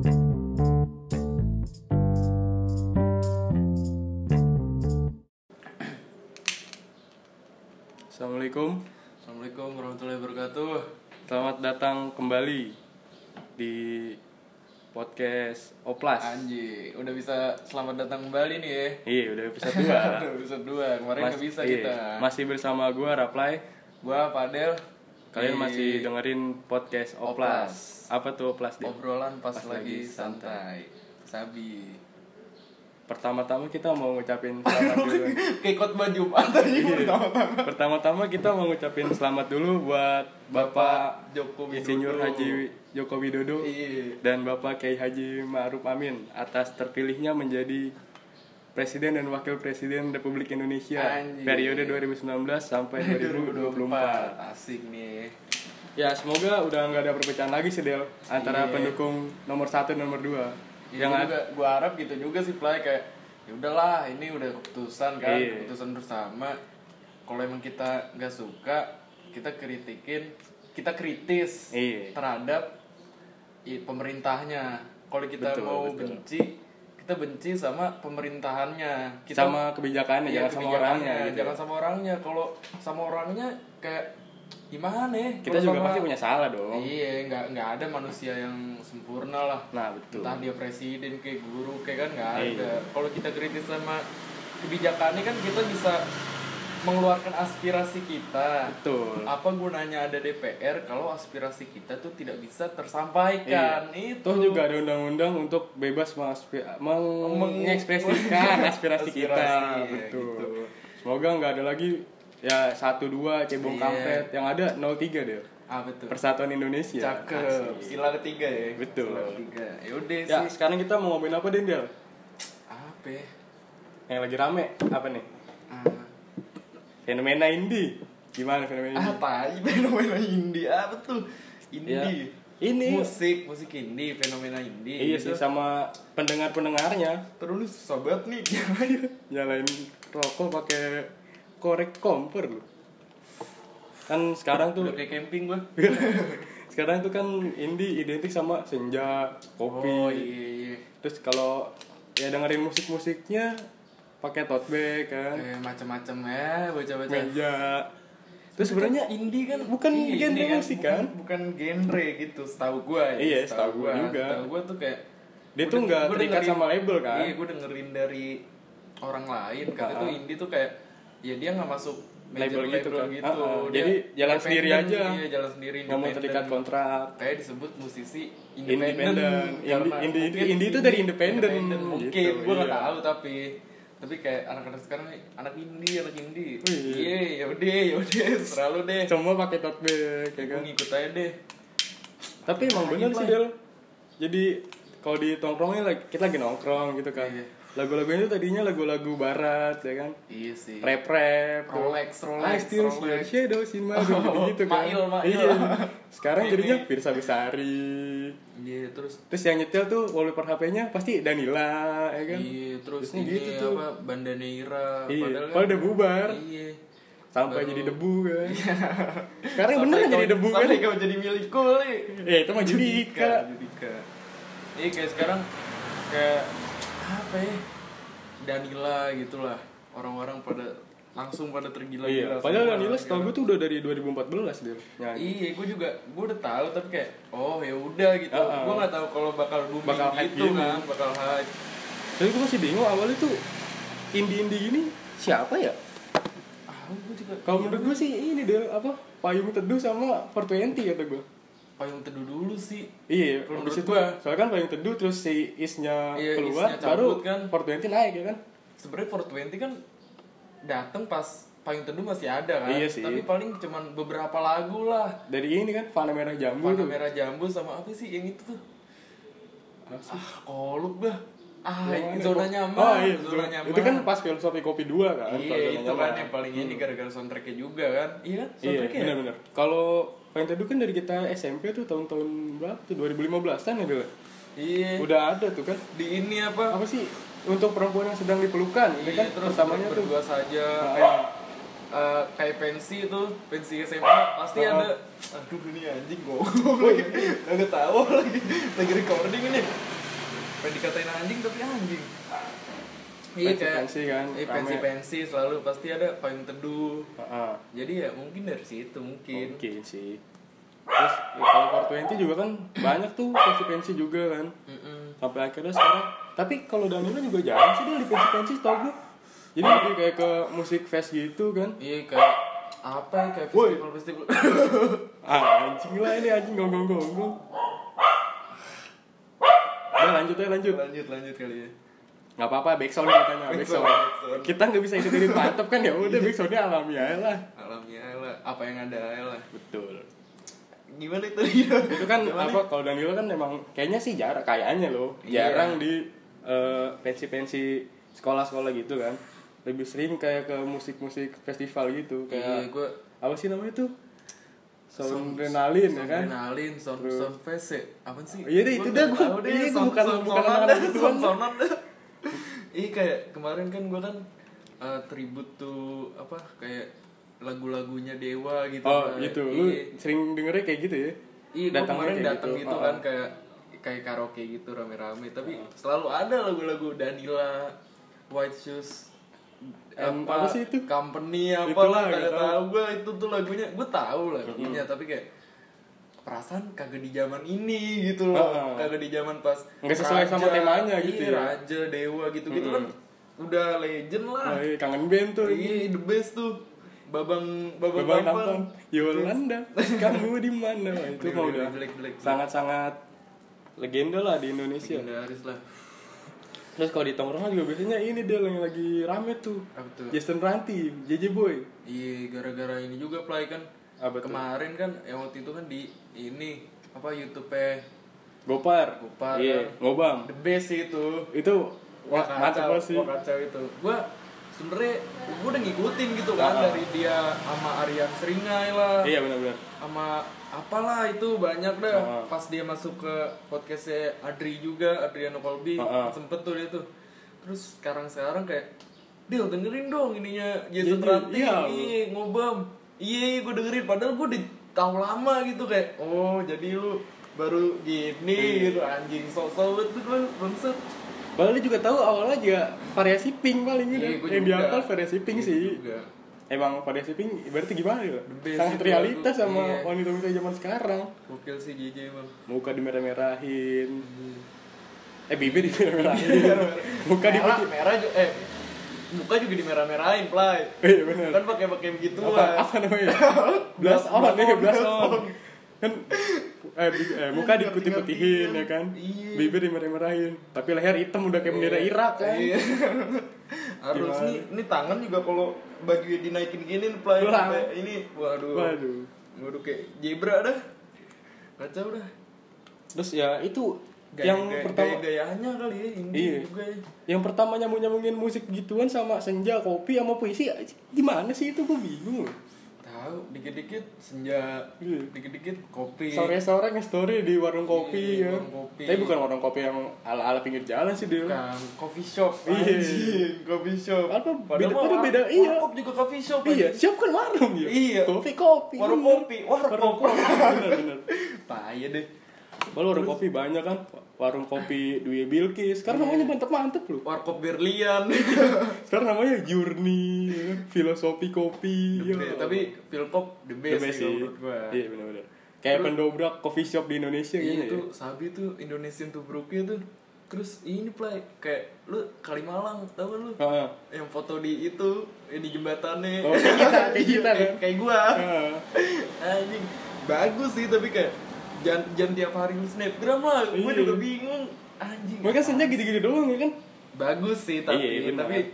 Assalamualaikum. Assalamualaikum warahmatullahi wabarakatuh. Selamat datang kembali di podcast Oplas. Anjir, udah bisa selamat datang kembali nih ya. Iya, udah episode 2. Udah episode 2, kemarin nggak bisa kita. Masih bersama gua Raplay. Gua Padel. Kalian masih dengerin podcast Oplas. Apa tuh Oplas? Obrolan pas lagi santai. Sabi. Pertama-tama kita mau ngucapin selamat dulu. Kayak khotbah Jumat tadi pertama-tama. Pertama-tama kita mau ngucapin selamat dulu buat Bapak Joko Widodo. Insinyur Haji Joko Widodo dan Bapak Kiai Haji Ma'ruf Amin atas terpilihnya menjadi Presiden dan Wakil Presiden Republik Indonesia. Anjir. Periode 2019 sampai 2024. Asik nih. Ya, semoga udah nggak ada perpecahan lagi sih Del antara pendukung nomor 1 dan nomor 2. Ya, gue harap gitu juga sih Play, kayak ya udahlah, ini udah keputusan kan, keputusan bersama. Kalau emang kita nggak suka, kita kritis terhadap pemerintahnya. Kalau kita betul. benci, kita benci sama pemerintahannya, kita sama kebijakannya, jangan sama orangnya gitu. Jangan sama orangnya. Kalau sama orangnya kayak gimana ya? Kita juga pasti punya salah dong. Iya, nggak ada manusia yang sempurna lah. Nah, betul. Entah dia presiden kayak guru kayak kan nggak ada. Kalau kita kritis sama kebijakannya kan kita bisa mengeluarkan aspirasi kita. Betul. Apa gunanya ada DPR kalau aspirasi kita tuh tidak bisa tersampaikan? Itu juga ada undang-undang untuk bebas mengekspresikan aspirasi kita. Betul. Gitu. Semoga nggak ada lagi ya 1-2 cebong kampret, yang ada 0-3 deh. Betul. Persatuan Indonesia. Cakep. Sila ketiga ya. Betul. Sila ketiga. Yaudah sih. Ya, sekarang kita mau ngomongin apa deh, Del? Apa ya? Yang lagi rame apa nih? Fenomena indie. Gimana fenomena indie? Apa? Fenomena indie apa tuh? Indie. Ya, ini musik indie, fenomena indie. Iya gitu. Sih, sama pendengar-pendengarnya. Terus sobat nih nyalain rokok pakai korek kompor loh. Kan sekarang tuh udah kayak camping gua. Sekarang tuh kan indie identik sama senja, kopi. Oh iya. Terus kalau ya dengerin musik-musiknya pakai tote bag kan. Macam-macam ya, baca-baca. Meja. Terus sebenarnya indie kan bukan genre musik kan? Bukan genre gitu, setahu gua ya. Iya, setahu gua juga. Setahu gua tuh kayak dia tuh enggak terikat sama label kan. Iya, gua dengerin dari orang lain katanya tuh indie tuh kayak ya dia enggak masuk label gitu kan. Jadi jalan sendiri aja. Iya, jalan sendiri. Nggak mau terikat kontrak. Kayak disebut musisi independen. Indie itu dari independen. Mungkin gitu, gue nggak tahu tapi kayak anak-anak sekarang nih anak indie. Iya, yaudah, selalu deh. Semua pakai tote bag, ya kan. Ngikut aja deh. Tapi emang bener sih Del. Jadi kalau di tongkrongnya kita lagi nongkrong gitu kan. Lagu-lagunya itu tadinya lagu-lagu barat ya kan. Iya sih. Rap. Rolex. Shadows in my room gitu kan. Mail. Iya. Sekarang jadinya Firsa Besari. Iya, terus yang nyetel tuh wallpaper HP-nya pasti Danila ya kan. Iya, terus ini gitu tuh. apa Bandaneira. Padahal udah bubar. Iya. Sampai jadi debu kan. Sekarang beneran jadi debu kan. Sampai kau jadi milikku nih. Itu mah Judika. Iya, kayak sekarang kayak apa ya, Danila gitulah, orang-orang langsung pada tergila-gila. Iya, padahal Danila setahu gue tuh udah dari 2014 dia nyanyi. Iya, gue udah tahu tapi kayak ya udah gitu. Gue nggak tahu kalau bakal booming gitu kan, bakal hype. Tapi gue masih bingung awalnya tuh indie ini siapa ya? Gue juga. Kalau menurut gue sih ini deh Payung Teduh sama 420 kata gue. Payung Teduh dulu sih. Iya, habis itu soalnya kan Payung Teduh terus si Isnya keluar, Isnya baru kan 420 naik ya kan. Sebenarnya 420 kan datang pas Payung Teduh masih ada kan. Iya sih. Tapi paling cuman beberapa lagu lah. Dari ini kan Fana Merah Jambu. Merah Jambu sama apa sih yang itu tuh? Kolup bah. Zona nyaman. Zona nyaman. Itu kan pas Filosofi Kopi 2 kan. Iya, itu kan yang paling ini gara-gara soundtracknya juga kan. Iya kan? Soundtracknya. Iya, benar-benar. Kalau Payung Teduh kan dari kita SMP tuh tahun-tahun berapa tuh 2015-an ya dulu. Iya. Udah ada tuh kan. Di ini apa sih untuk perempuan yang sedang dipelukan. Iya, ini kan terus pertamanya tuh berdua saja kayak pensi SMA pasti ada. Aduh, ini anjing gue lagi nggak tahu lagi recording ini. pengen dikatain anjing tapi anjing. Iya kayak pensi kan, pensi selalu pasti ada payung teduh. Jadi ya mungkin dari situ mungkin sih. Terus ya, kalau 420 juga kan banyak tuh pensi juga kan. Sampai akhirnya sekarang. Tapi kalau Danilo juga jarang sih dia di pensi tau gue. Jadi lebih kayak ke musik fest gitu kan. Iya kayak apa ya, kayak festival. Anjing lah ini anjing gonggong. Udah lanjut kali ya. Nggak apa-apa, backsound katanya. Backsound. Kita nggak bisa ikutin mantep kan ya udah backsoundnya alami aja lah. Apa yang ada aja lah. Betul. Gimana itu? Itu kan apa kalau Danilo kan memang kayaknya sih kayaknya loh jarang di pensi sekolah-sekolah gitu kan. Lebih sering kayak ke musik-musik festival gitu kayak gua apa sih namanya tuh? Soundrenalin ya kan? Sound fest ya? Apa sih? Iya deh itu dah gua. Iya gua bukan anak gitu kan. Iya kayak kemarin kan gua kan tribute tuh apa kayak lagu-lagunya Dewa gitu. Oh gitu. Lu sering dengernya kayak gitu ya? Iya, gue kemarin datang gitu kan kayak karaoke gitu rame-rame. Tapi selalu ada lagu-lagu Danila, White Shoes, apa sih itu? Company apalah kagak tahu gue itu tuh lagunya. Gue tahu lagunya tapi kayak perasaan kagak di zaman ini gitu loh. Kagak di zaman pas nggak sesuai sama temanya gitu ya. Raja, Dewa gitu-gitu kan udah legend lah. Kangen band tuh. Iya, the best tuh. Babang Tampan Yolanda kamu di mana itu mau udah sangat legenda lah di Indonesia. Legendaris lah. Terus kalau di tongkrongan juga biasanya ini dia yang lagi rame tuh. Jason Ranti, JJ Boy. Iya, gara-gara ini juga play kan. Kemarin kan yang waktu itu kan di ini apa YouTube-nya Gopar. Iya, kan. Ngobam. The best itu. Itu mantap sih. Kacau itu. Gua sebenarnya gue udah ngikutin gitu kan dari dia sama Aryan Seringai lah. Iya benar. Sama apalah itu banyak dah. Pas dia masuk ke podcastnya Adri juga, Adriano Colby, sempet tuh dia tuh. Terus sekarang kayak Del dengerin dong ininya Jason Ranti, Ngobam. Iya gue dengerin padahal gue udah tahu lama gitu kayak oh jadi lu baru gini gitu anjing sok-sok banget gue bangset. Padahal dia juga tahu awalnya juga variasi pink paling gitu. Yang diapal variasi pink sih. Juga. Emang variasi pink berarti gimana ya? Sangat realitas sama wanita-wanita zaman sekarang. Gokil sih JJ emang. Muka dimerah-merahin. Bibir dimerah-merahin. Muka diputih merah juga muka juga dimerah-merahin, Play. Iya benar. Kan pakai gitu apa namanya? Blush on. Kan muka diputih-putihin ya kan, bibir dimerah-merahin, tapi leher hitam udah kayak bendera Irak kan. Harus nih tangan juga kalau baju dinaikin gini Play ini waduh kayak zebra dah, kacau dah. Terus ya itu yang pertama gayanya kali ya ini juga ya. Yang pertama nyambungin musik gituan sama senja, kopi sama puisi gimana sih itu gue bingung. Tahu dikit-dikit senja, dikit-dikit kopi. Sore-sore nge-story di warung kopi ya. Tapi bukan warung kopi yang ala-ala pinggir jalan sih dia. Bukan, coffee shop. Coffee shop. Padahal beda warkop juga coffee shop. Iya, shop kan warung ya. Iya. Kopi. Warung kopi. Bener. Payah deh. Baru warung kopi banyak kan. Warung kopi Dwi Bilkis. Sekarang namanya mantep loh. Warkop Berlian. Sekarang namanya Journey, filosofi kopi. Tapi Philpop the best sih menurut gua. Iya benar. Kayak pendobrak coffee shop di Indonesia gitu. Itu Sabi tuh Indonesian Tubruknya tuh. Terus ini Play kayak lu Kalimalang tau kan lu? Yang foto di itu di jembatannya. Oh, kayak kita kan. Kayak gua. Anjing. Bagus sih tapi kayak jangan tiap hari lu snapgram lah. Gue juga bingung. Anjing. Mereka senja gitu-gitu doang ya kan? Bagus sih tapi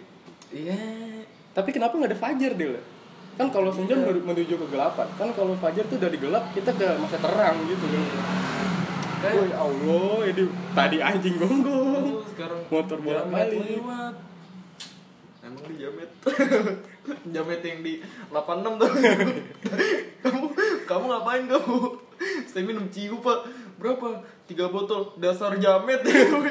Tapi kenapa enggak ada fajar deh? Kan kalau senja menuju kegelapan. Kan kalau fajar tuh dari gelap kita ke masa terang gitu kan. Oh ya Allah, ini tadi anjing gonggong. Sekarang motor bolak-balik. Emang di Jamet. Jamet yang di 86 tuh. Kamu ngapain kamu? Saya minum ciu Pak. Berapa? 3 botol. Dasar Jamet.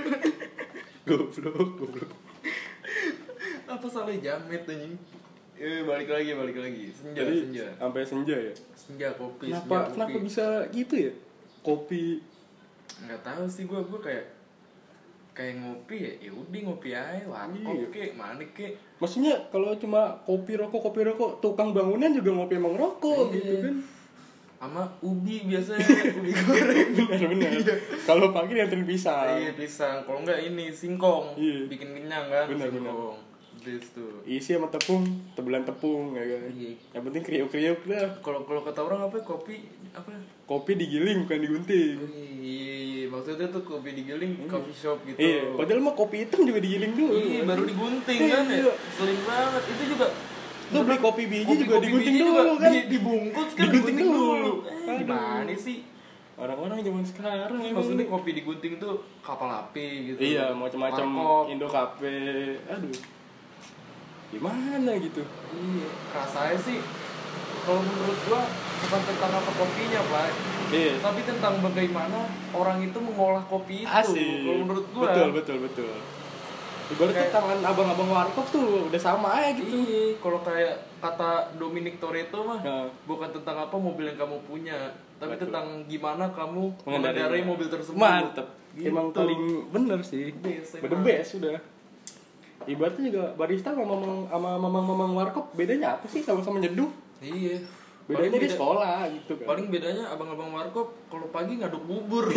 Goblok. Apa salah Jamet anjing? Balik lagi. Senja. Sampai senja ya? Senja kopi. Kenapa bisa gitu ya? Kopi. Enggak tahu sih gue kayak kayak ngopi ya udah ngopi aja, warkop kek, mana kek. Maksudnya kalau cuma kopi rokok, tukang bangunan juga ngopi emang rokok gitu kan. Sama ubi biasanya, ubi goreng. Benar. Kalau pagi dianterin pisang. Iya, pisang. Kalau enggak ini singkong. Iya. Bikin kenyang kan, Benar. Best tuh. Isi sama tepung, tebelan tepung ya kan. Iya. Yang penting kriuk-kriuk dah. Kalau kata orang apa kopi apa? Kopi digiling bukan digunting. Iya, maksudnya tuh kopi digiling coffee shop gitu. Iya, padahal mah kopi hitam juga digiling dulu. Iya, baru digunting kan ya. Seling banget. Itu juga lu beli kopi biji juga digunting dulu kan. Dibungkus kan digunting dulu. Gimana sih? Orang-orang zaman sekarang maksudnya kopi digunting tuh kapal api gitu. Iya, macam-macam Indo Cafe. Aduh. Gimana gitu? Iya, rasanya sih kalau menurut gua bukan tentang apa kopinya, Pak. Iya. Tapi tentang bagaimana orang itu mengolah kopi itu. Asik. Kalau menurut gua. Betul. Ibaratnya tangan abang-abang warkop tuh udah sama aja gitu. Iya, kalau kayak kata Dominic Toretto mah, bukan tentang apa mobil yang kamu punya, tapi tentang gimana kamu mengendarai mobil tersebut. Mantep. Gitu. Emang paling bener sih. The best sudah. Ibaratnya juga barista sama mamang warkop bedanya apa sih? Sama-sama nyeduh. Iya. Bedanya di sekolah gitu kan. Paling bedanya abang-abang warkop kalau pagi ngaduk bubur.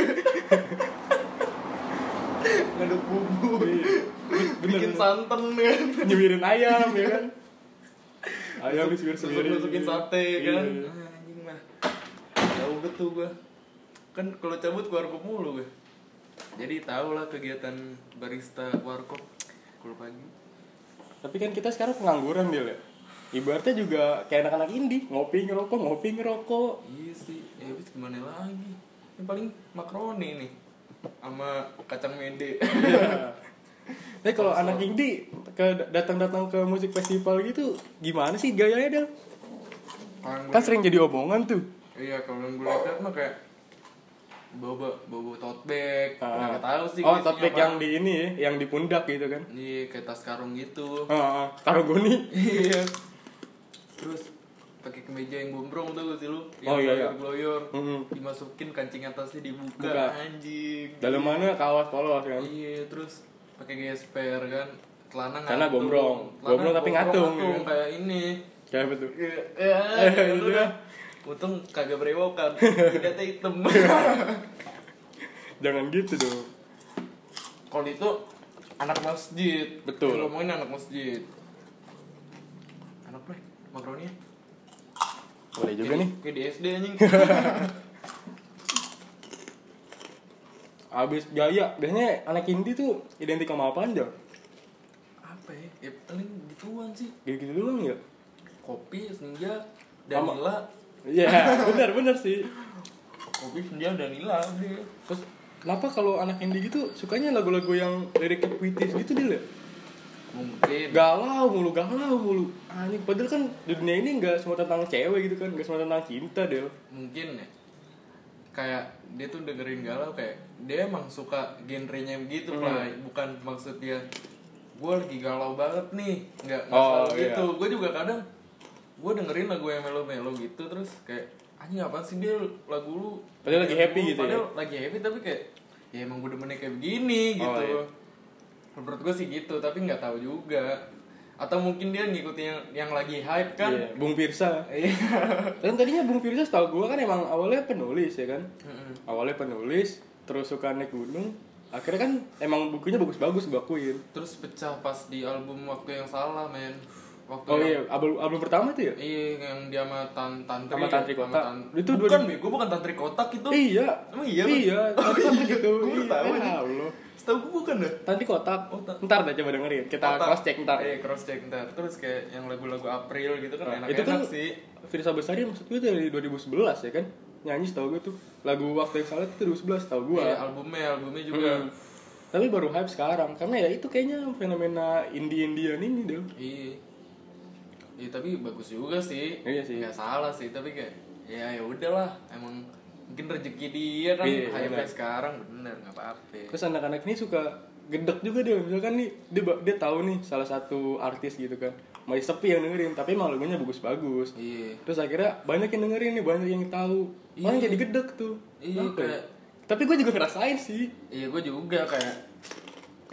Ngaduk bubur. Bikin santan kan. Nyemirin ayam ya kan. Ayam disebir sendiri. Masukin sate kan. Anjing mah. Jauh betul gua. Kan kalau cabut ke warkop mulu gue. Jadi tau lah kegiatan barista warkop kalau pagi. Tapi kan kita sekarang pengangguran dia ya. Ibaratnya juga kayak anak-anak indie, ngopi ngerokok. Iya sih, ya habis gimana lagi? Yang paling makaroni nih sama kacang mede. Tapi kalau anak indie datang ke musik festival gitu, gimana sih gayanya Del? Kan sering jadi omongan tuh. Iya, kalau yang gue lihat mah kayak bawa tote bag. Nggak tahu sih. Oh, tote bag yang di ini ya, yang di pundak gitu kan? Iya, kayak tas karung gitu. Karung goni. Iya. Terus pakai kemeja yang gombrong tuh sih lu, yang gloyor, dimasukin kancing atasnya dibuka, anjing. Dalamannya kaos polos kan? Iya, terus pakai gesper kan, celana gombrong tapi ngatung ya. Kayak ini. Kayak apa tuh? Itu dah. Untung kagak berewokan, tidak hitam. Jangan gitu dong. Kalau itu anak masjid. Betul. Ngomongin anak masjid. Anak play, makaroni. Boleh juga nih. Kayak di SD anjing. Abis gaya, biasanya anak indie tuh identik sama apaan Del? Apa ya? Ya paling gituan sih. Gitu doang ya? Kopi, senja, Danila. Iya, benar sih. Kopi, senja, Danila deh. Terus kenapa kalau anak indie gitu sukanya lagu-lagu yang liriknya puitis gitu Del ya? Mungkin galau mulu anjing, padahal kan di dunia ini nggak semua tentang cewek gitu kan, nggak semua tentang cinta Del. Mungkin ya, kayak dia tuh dengerin galau, kayak dia emang suka genrenya begitu lah. Bukan maksud dia gue lagi galau banget nih, nggak selalu gitu. Gue juga kadang gue dengerin lagu yang melo-melo gitu, terus kayak anjing apaan sih dia lagu lu padahal lagi happy gitu. Padahal lagi happy tapi kayak ya emang gue demennya kayak begini gitu. Menurut gue sih gitu, tapi nggak tahu juga. Atau mungkin dia ngikutin yang lagi hype kan. Iya, Bung Pirsa. Dan tadinya Bung Pirsa setahu gue kan emang awalnya penulis ya kan. Awalnya penulis, terus suka naik gunung. Akhirnya kan emang bukunya bagus-bagus gue akuin. Terus pecah pas di album Waktu Yang Salah, men. Album pertama itu ya? Iya, yang dia sama Tantri. Sama Tantri Kotak. Itu bukan bego, bukan Tantri Kotak itu. Iya. Emang iya? Iya, Tantri gitu. Gue tahu aja. Setahu gue bukan dah. Tantri Kotak. Ntar dah coba dengerin. Kita cross check ntar. Cross check ntar. Terus kayak yang lagu-lagu April gitu kan enak-enak itu kan sih. Firsa Besari maksud gue dari 2011 ya kan? Nyanyi setahu gue tuh. Lagu Waktu Yang Salah itu 2011 setahu gue. Iya, albumnya juga. Tapi baru hype sekarang karena ya itu kayaknya fenomena indie-indian ini deh. Iya, tapi bagus juga sih. Iya sih. Gak salah sih, tapi kayak ya udahlah, emang mungkin rezeki dia kan hype sekarang, bener, nggak apa-apa. Terus anak-anak ini suka gedek juga dia, misalkan nih dia tahu nih salah satu artis gitu kan, masih sepi yang dengerin, tapi emang lagunya bagus-bagus. Iya. Terus akhirnya banyak yang dengerin nih, banyak yang tahu, malah jadi gedek tuh. Iya, kayak. Tapi gue juga ngerasain sih. Iya, gue juga kayak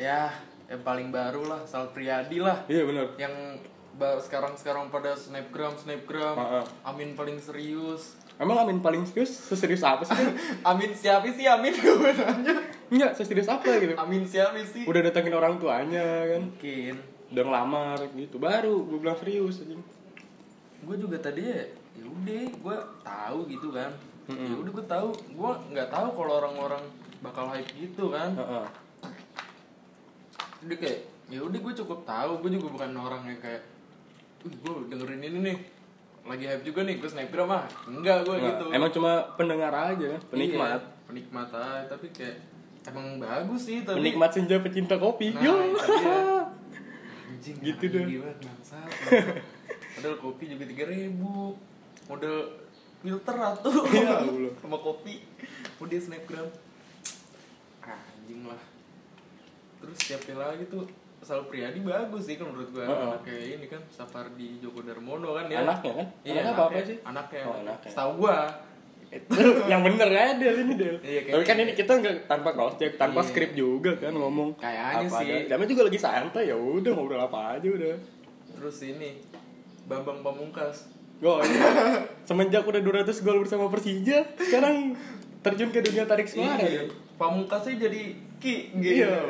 ya yang paling baru lah, Sal Priadi lah. Iya benar. Yang sekarang pada snapgram. Amin paling serius. Emang Amin paling serius? Seserius apa sih? Amin siapa sih Amin sebenarnya? Enggak, seserius apa gitu? Amin siapa sih? Udah datengin orang tuanya kan. Mungkin. Udah ngelamar gitu. Baru gue bilang serius aja. Gue juga tadi ya udah gue tahu gitu kan. Ya udah gue tahu. Gue nggak tahu kalau orang-orang bakal hype gitu kan. Jadi kayak ya udah gue cukup tahu. Gue juga bukan orang yang kayak gue dengerin ini nih lagi hype juga nih gue snapgram mah enggak gue gitu. Emang cuma pendengar aja, penikmat. Iya, penikmat aja, tapi kayak emang bagus sih tapi penikmat senja pecinta kopi. Nah, Yo. Anjing gitu dong. Padahal kopi juga 3.000. Model filter atuh. Ya, sama kopi. Udah snapgram. Anjing lah. Terus siapa lagi tuh? Sal Priadi bagus sih kan menurut gue. Kayak ini kan Sapardi Djoko Darmono kan ya. Anaknya kan? Iya, apa sih? Anaknya. Anaknya. Setahu gue. Yang bener ya Del ini Del. Iya, tapi kan ini kita nggak tanpa cross check, tanpa skrip juga kan ngomong. Kayaknya sih. Kami juga lagi santai ya udah ngobrol apa aja udah. Terus ini Bambang Pamungkas. Oh iya. Semenjak udah 200 gol bersama Persija, sekarang terjun ke dunia tarik suara. Iya. Pamungkasnya jadi Ki gitu. Iya.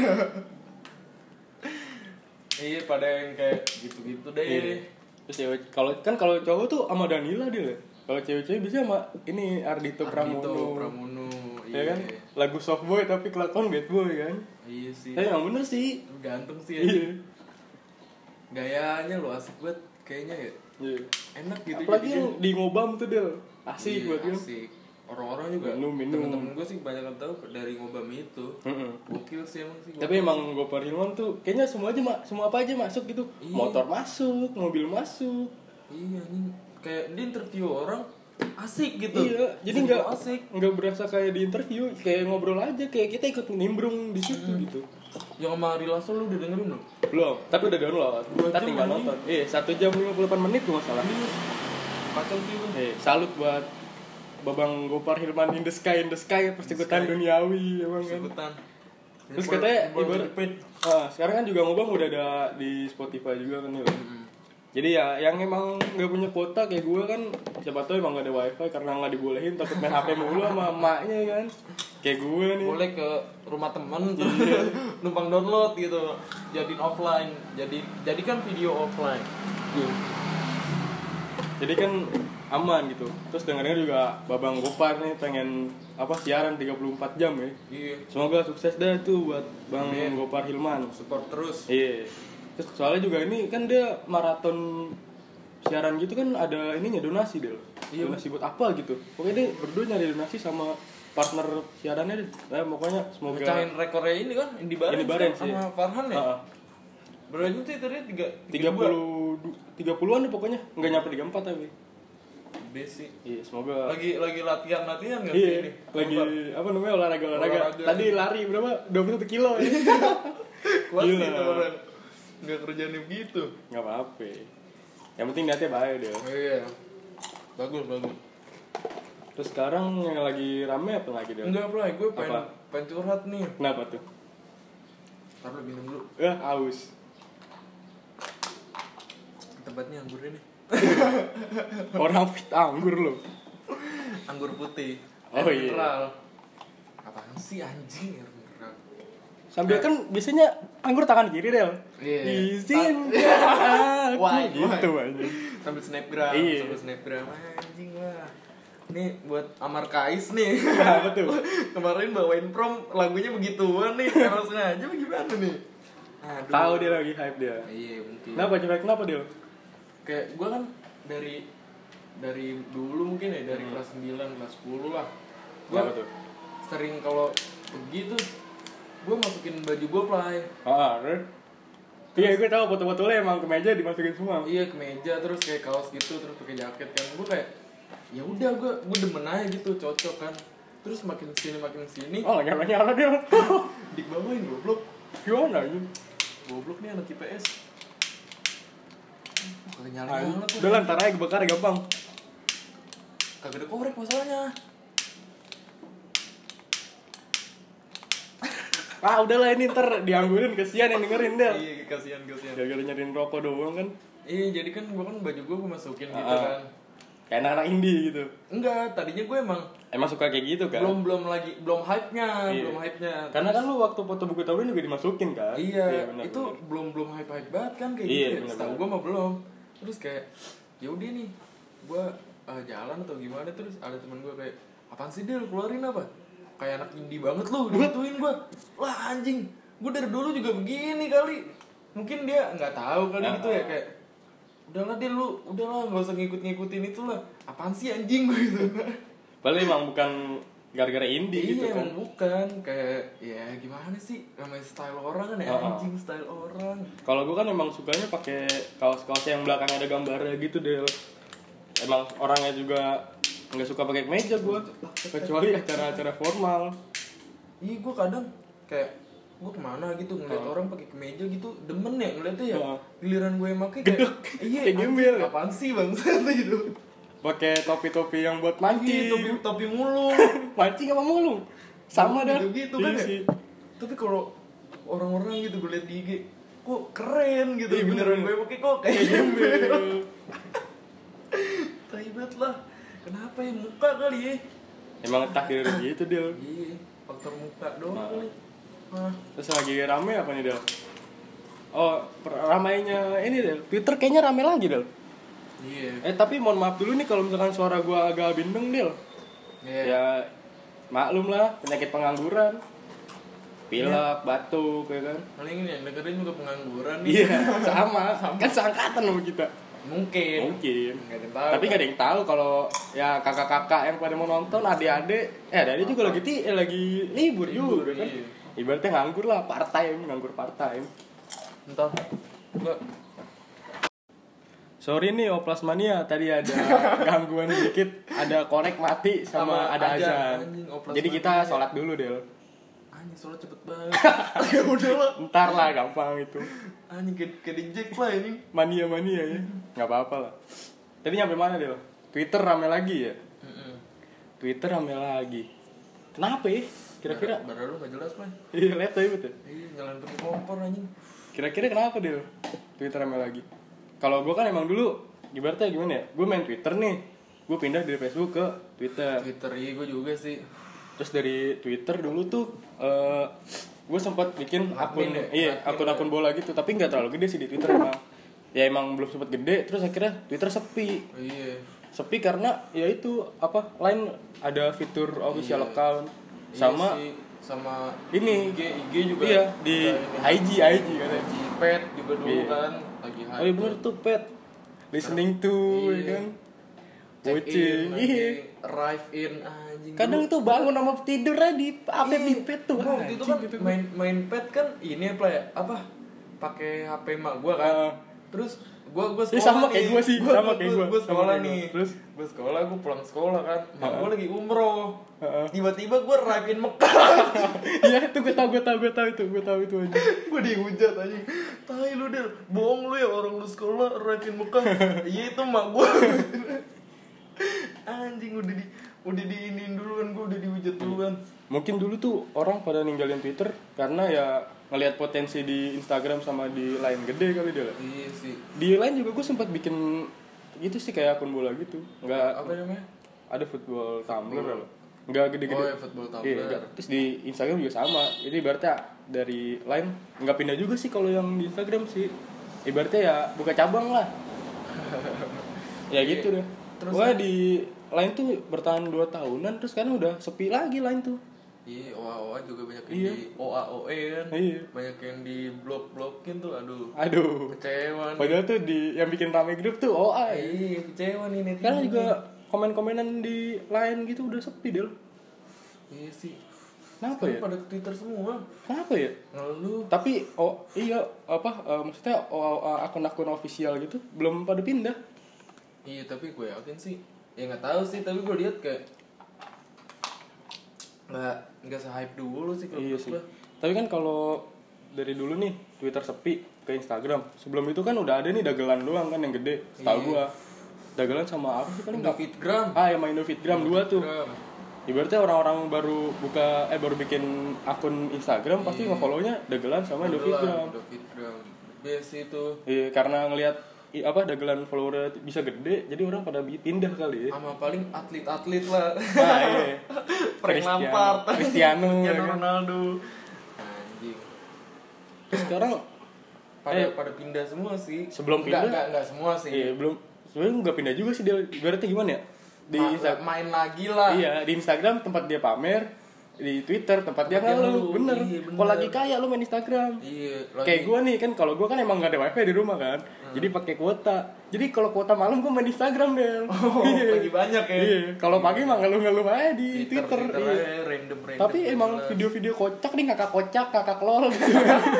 Iya pada yang kayak gitu-gitu deh. Iya. Terus ya kalau cowok tuh sama Danila dia. Kalau cewek-cewek bisa sama ini Ardhito Pramono. Iya kan? Lagu soft boy tapi kelakuan bad boy kan. Iya sih. Tapi yang bener sih. Ganteng sih Iya. Gayanya lo asik banget kayaknya ya. Iya. Enak gitu. Apalagi yang di Ngobam tuh Del. Asik iya, buat dia. asik. Orang-orang juga minum. temen-temen gue sih banyak yang tahu dari Ngobam itu. Gokil sih emang sih. Tapi emang Gopar Hilman tuh kayaknya semua apa aja masuk gitu. Iya. Motor masuk, mobil masuk. Iya nih kayak di interview orang asik gitu. Iya, jadi nggak berasa kayak di interview, kayak ngobrol aja, kayak kita ikut nimbrung di situ gitu. Yang sama Ari Lasso lu udah dengerin belum? Belum, tapi udah download. Kita tinggal nonton. 1 jam 58 menit tuh masalah. Kacau sih lu. Salut buat Babang Gopar Hilman in the sky persekutuan duniawi emang kan. Persekutuan. Terus katanya ibarat sekarang kan juga Ngobam udah ada di Spotify juga kan ya. Jadi ya yang emang nggak punya kuota kayak gue kan siapa tahu emang nggak ada wifi karena nggak dibolehin takut main HP mulu sama emaknya kan. Kayak gue nih. Boleh ke rumah temen tuh numpang download gitu, jadiin offline, jadikan video offline. Jadi kan aman gitu. Terus dengarnya juga Babang Gopar nih pengen siaran 34 jam ya. Iya. Semoga sukses dah tuh buat Bang Gopar Hilman. Support terus. Iya. Terus soalnya juga ini kan dia maraton siaran gitu kan ada ininya donasi Del. Iya. Donasi buat apa gitu. Pokoknya dia berdua nyari donasi sama partner siarannya deh. Nah, pokoknya semoga mecahin rekornya ini kan Indi Barens sih. Sama Farhan ya. Berarti sih tadi 30-an deh pokoknya. Enggak nyampe 34 tapi. Basic. Iya, semoga lagi latihan enggak sih ini? Lagi olahraga. Tadi lari berapa? 21 kilo ya. Kuat sih orang. Enggak kerjanya begitu. Enggak apa-apa. Yang penting niatnya baik deh. Iya. Bagus. Terus sekarang yang lagi rame apa lagi deh? Enggak apa, gue pengen curhat nih. Kenapa tuh? Taruh minum dulu. Aus. Tempatnya anggur ini. Orang fit anggur loh. Anggur putih. Oh iya. Mineral. Apaan sih anjing air mineral? Sambil kan biasanya anggur tangan kiri Del. Iya. Izin. Wah, gitu anjing. Sambil snapgram, anjing lah. Nih buat Amar Kais nih. Apa tuh? Kemarin bawain prom lagunya begituan nih. Karena sengaja bagaimana nih? Aduh. Tahu dia lagi hype dia. Iya, mungkin. Kenapa Del? Kayak gue kan dari dulu mungkin ya dari kelas 9, kelas 10 lah. Gue sering kalau pergi tuh gue masukin baju gue play. Iya, gue tahu foto-fotonya emang ke meja dimasukin semua. Iya, ke meja terus kayak kaos gitu terus pakai jaket kan. Gue kayak ya udah gue demen aja gitu, cocok kan. Terus makin sini. Oh, nyala dia. Dibawain goblok. Gimana ini? Goblok nih anak IPS. Kagak nyala tuh. Udah lantar aja kebakar gampang. Kagak ada korek masalahnya. Udahlah ini ntar dianggurin, kesian yang dengerin Del. Iya, kasihan. Gara-gara nyariin rokok doang kan. Iya, jadi kan gue kan baju gue masukin gitu kan. Kayak anak-anak indie gitu. Enggak, tadinya gue emang suka kayak gitu kan. belum hype-nya. Karena kan lu waktu foto buku tahunan juga dimasukin kan. Iya, bener, itu belum hype banget kan kayak gitu. Setahu gue mah belum. Terus kayak ya udah nih, gue jalan atau gimana, terus ada teman gue kayak, apaan sih Del, keluarin apa? Kayak anak indie banget lu, digituin gue. Lah anjing, gue dari dulu juga begini kali. Mungkin dia nggak tahu kali gitu ya, kayak udahlah Del, lu udahlah nggak usah ngikutin itu lah. Apaan sih anjing gue gitu. Padahal emang bukan gara-gara indie gitu kan. Iya, bukan. Kayak ya gimana sih, namanya style orang kan ya, anjing style orang. Kalau gue kan emang sukanya pakai kaos-kaos yang belakangnya ada gambarnya gitu Del. Emang orangnya juga nggak suka pakai kemeja gue, kecuali acara-acara formal. Iya, gue kadang kayak gue kemana gitu ngeliat orang pakai kemeja gitu, demen ya ngeliatnya ya. Giliran gue yang pakai kayak iya, kayak gembel. Apaan sih bang gitu. Pakai topi-topi yang buat mancing. Topi mulung. Mancing apa mulung? Sama dah. Gitu kan ya. Tapi kalau orang-orang gitu gue liat di IG, kok keren gitu. Beneran gue pakai kok kayak gembel. Taibet lah. Kenapa ya, muka kali ya? Emang takdir gitu Del. Iya, faktor muka doang kali. Terus lagi rame apa nih Del? Ramainya ini Del. Twitter kayaknya rame lagi Del. Iya. Tapi mohon maaf dulu nih kalau misalkan suara gua agak bindeng Del. Ya maklum lah, penyakit pengangguran. Pilek, batuk ya kan. Paling ini yang dengerin juga pengangguran nih. Iya, sama. Kan seangkatan sama kita. Mungkin. Nggak ada yang tahu. Tapi nggak ada yang tahu kalau ya kakak-kakak yang pada mau nonton, adik-adik juga lagi libur juga kan. Iya. Ibaratnya nganggur lah, nganggur part time. Entah. Enggak. Sorry nih Oplas Mania, tadi ada gangguan dikit, ada korek mati sama ada azan. Jadi kita sholat dulu Del. Anjing sholat cepet banget. Ya udah lah. Ntar lah, gampang itu. Anjing kayak dijek lah ini. Mania ya. Nggak apa-apa lah. Tadi nyampe mana Del? Twitter rame lagi ya? Twitter rame lagi. Kenapa ya? Kira-kira? Baru lu nggak jelas lah. Iya, lihat aja betul. Iya, nyalain pakai kompor anjing. Kira-kira kenapa Del? Twitter rame lagi. Kalau gue kan emang dulu ibaratnya gimana ya, gue main Twitter nih, gue pindah dari Facebook ke Twitter. Iya gue juga sih. Terus dari Twitter dulu tuh gue sempat bikin akun bola gitu, tapi nggak terlalu gede sih di Twitter emang. Ya emang belum sempat gede, terus akhirnya Twitter sepi. Iya. Sepi karena ya itu lain ada fitur official account sama ini IG juga. Iya, di IG katanya. Pet juga dulu kan. Oh iya bener tuh Pet, listening to ya kan, watching, arrive in anjing. Kadang tuh bangun sama tidur aja di di Pet tuh. Waktu itu kan main Pet kan ini apa pakai HP mak gua kan. Terus gua sekolah sama nih. Kayak gua sih, sama kayak gua. Gua sekolah nih. Terus gua sekolah, gua pulang sekolah kan. Mak gua lagi umroh. Tiba-tiba gua arrive in Mekah. Iya, itu gue tahu itu aja. Gue dihujat aja. Tai lu Del, bohong lu ya, orang lu sekolah arrive in Mekah. Iya itu mak gua. Anjing udah diinin duluan, gua udah dihujat duluan. Mungkin dulu tuh orang pada ninggalin Twitter karena ya ngelihat potensi di Instagram sama di Line gede kali dia. Iya sih. Di Line juga gue sempat bikin gitu sih kayak akun bola gitu. Enggak apa namanya? Ada football tumbler loh. Enggak gede-gede. Oh ya, football tumbler. Iya, terus di Instagram juga sama. Jadi ibaratnya dari Line enggak pindah juga sih kalau yang di Instagram sih. Ibaratnya ya buka cabang lah. Ya gitu deh. Terus di Line tuh bertahan 2 tahunan terus kan udah sepi lagi Line tuh. Iya, OA juga banyak yang di OAOE kan. Iya. Banyak yang di blok-blokin tuh, aduh. Kecewa nih. Padahal tuh yang bikin rame grup tuh OA. Iya, kecewa nih netizen. Karena juga komen-komenan di Line gitu udah sepi Del. Iya sih. Kenapa ya? Pada ke Twitter semua. Kenapa ya? Ngeluh. Tapi maksudnya akun-akun official gitu belum pada pindah. Iya, tapi gue yakin sih. Ya nggak tahu sih, tapi gue lihat kayak nggak se-hype dulu sih kalau iya sih. Tapi kan kalau dari dulu nih Twitter sepi ke Instagram. Sebelum itu kan udah ada nih dagelan doang kan yang gede. Tahu gua. Dagelan sama apa sih paling? Indofitgram. Yang main Indofitgram 2 tuh. ibaratnya orang-orang baru bikin akun Instagram pasti nge-follow-nya Dagelan sama Davidgram. Biasa itu. Iya, karena ngelihat Dagelan follower bisa gede, jadi orang pada pindah kali ya. Sama paling atlet-atlet lah. Nah, iya. Frank Lampard, Cristiano Ronaldo. Anjing. Sekarang pada pindah semua sih. Sebelum pindah enggak semua sih. Iya, belum. Sebenarnya enggak pindah juga sih dia. Ibaratnya gimana ya? Main lagi lah. Iya, di Instagram tempat dia pamer, di Twitter tempat dia ngeluh. Bener. Kalau lagi kaya lu main Instagram. Iya. Kayak gue nih kan, kalau gue kan emang gak ada wifi di rumah kan, jadi pakai kuota. Jadi kalau kuota malam gue main Instagram deh. Lagi banyak ya. Iya. Kalau pagi mah ngeluh aja di Twitter. Iya. Random. Tapi emang video-video kocak nih, kakak lol gitu.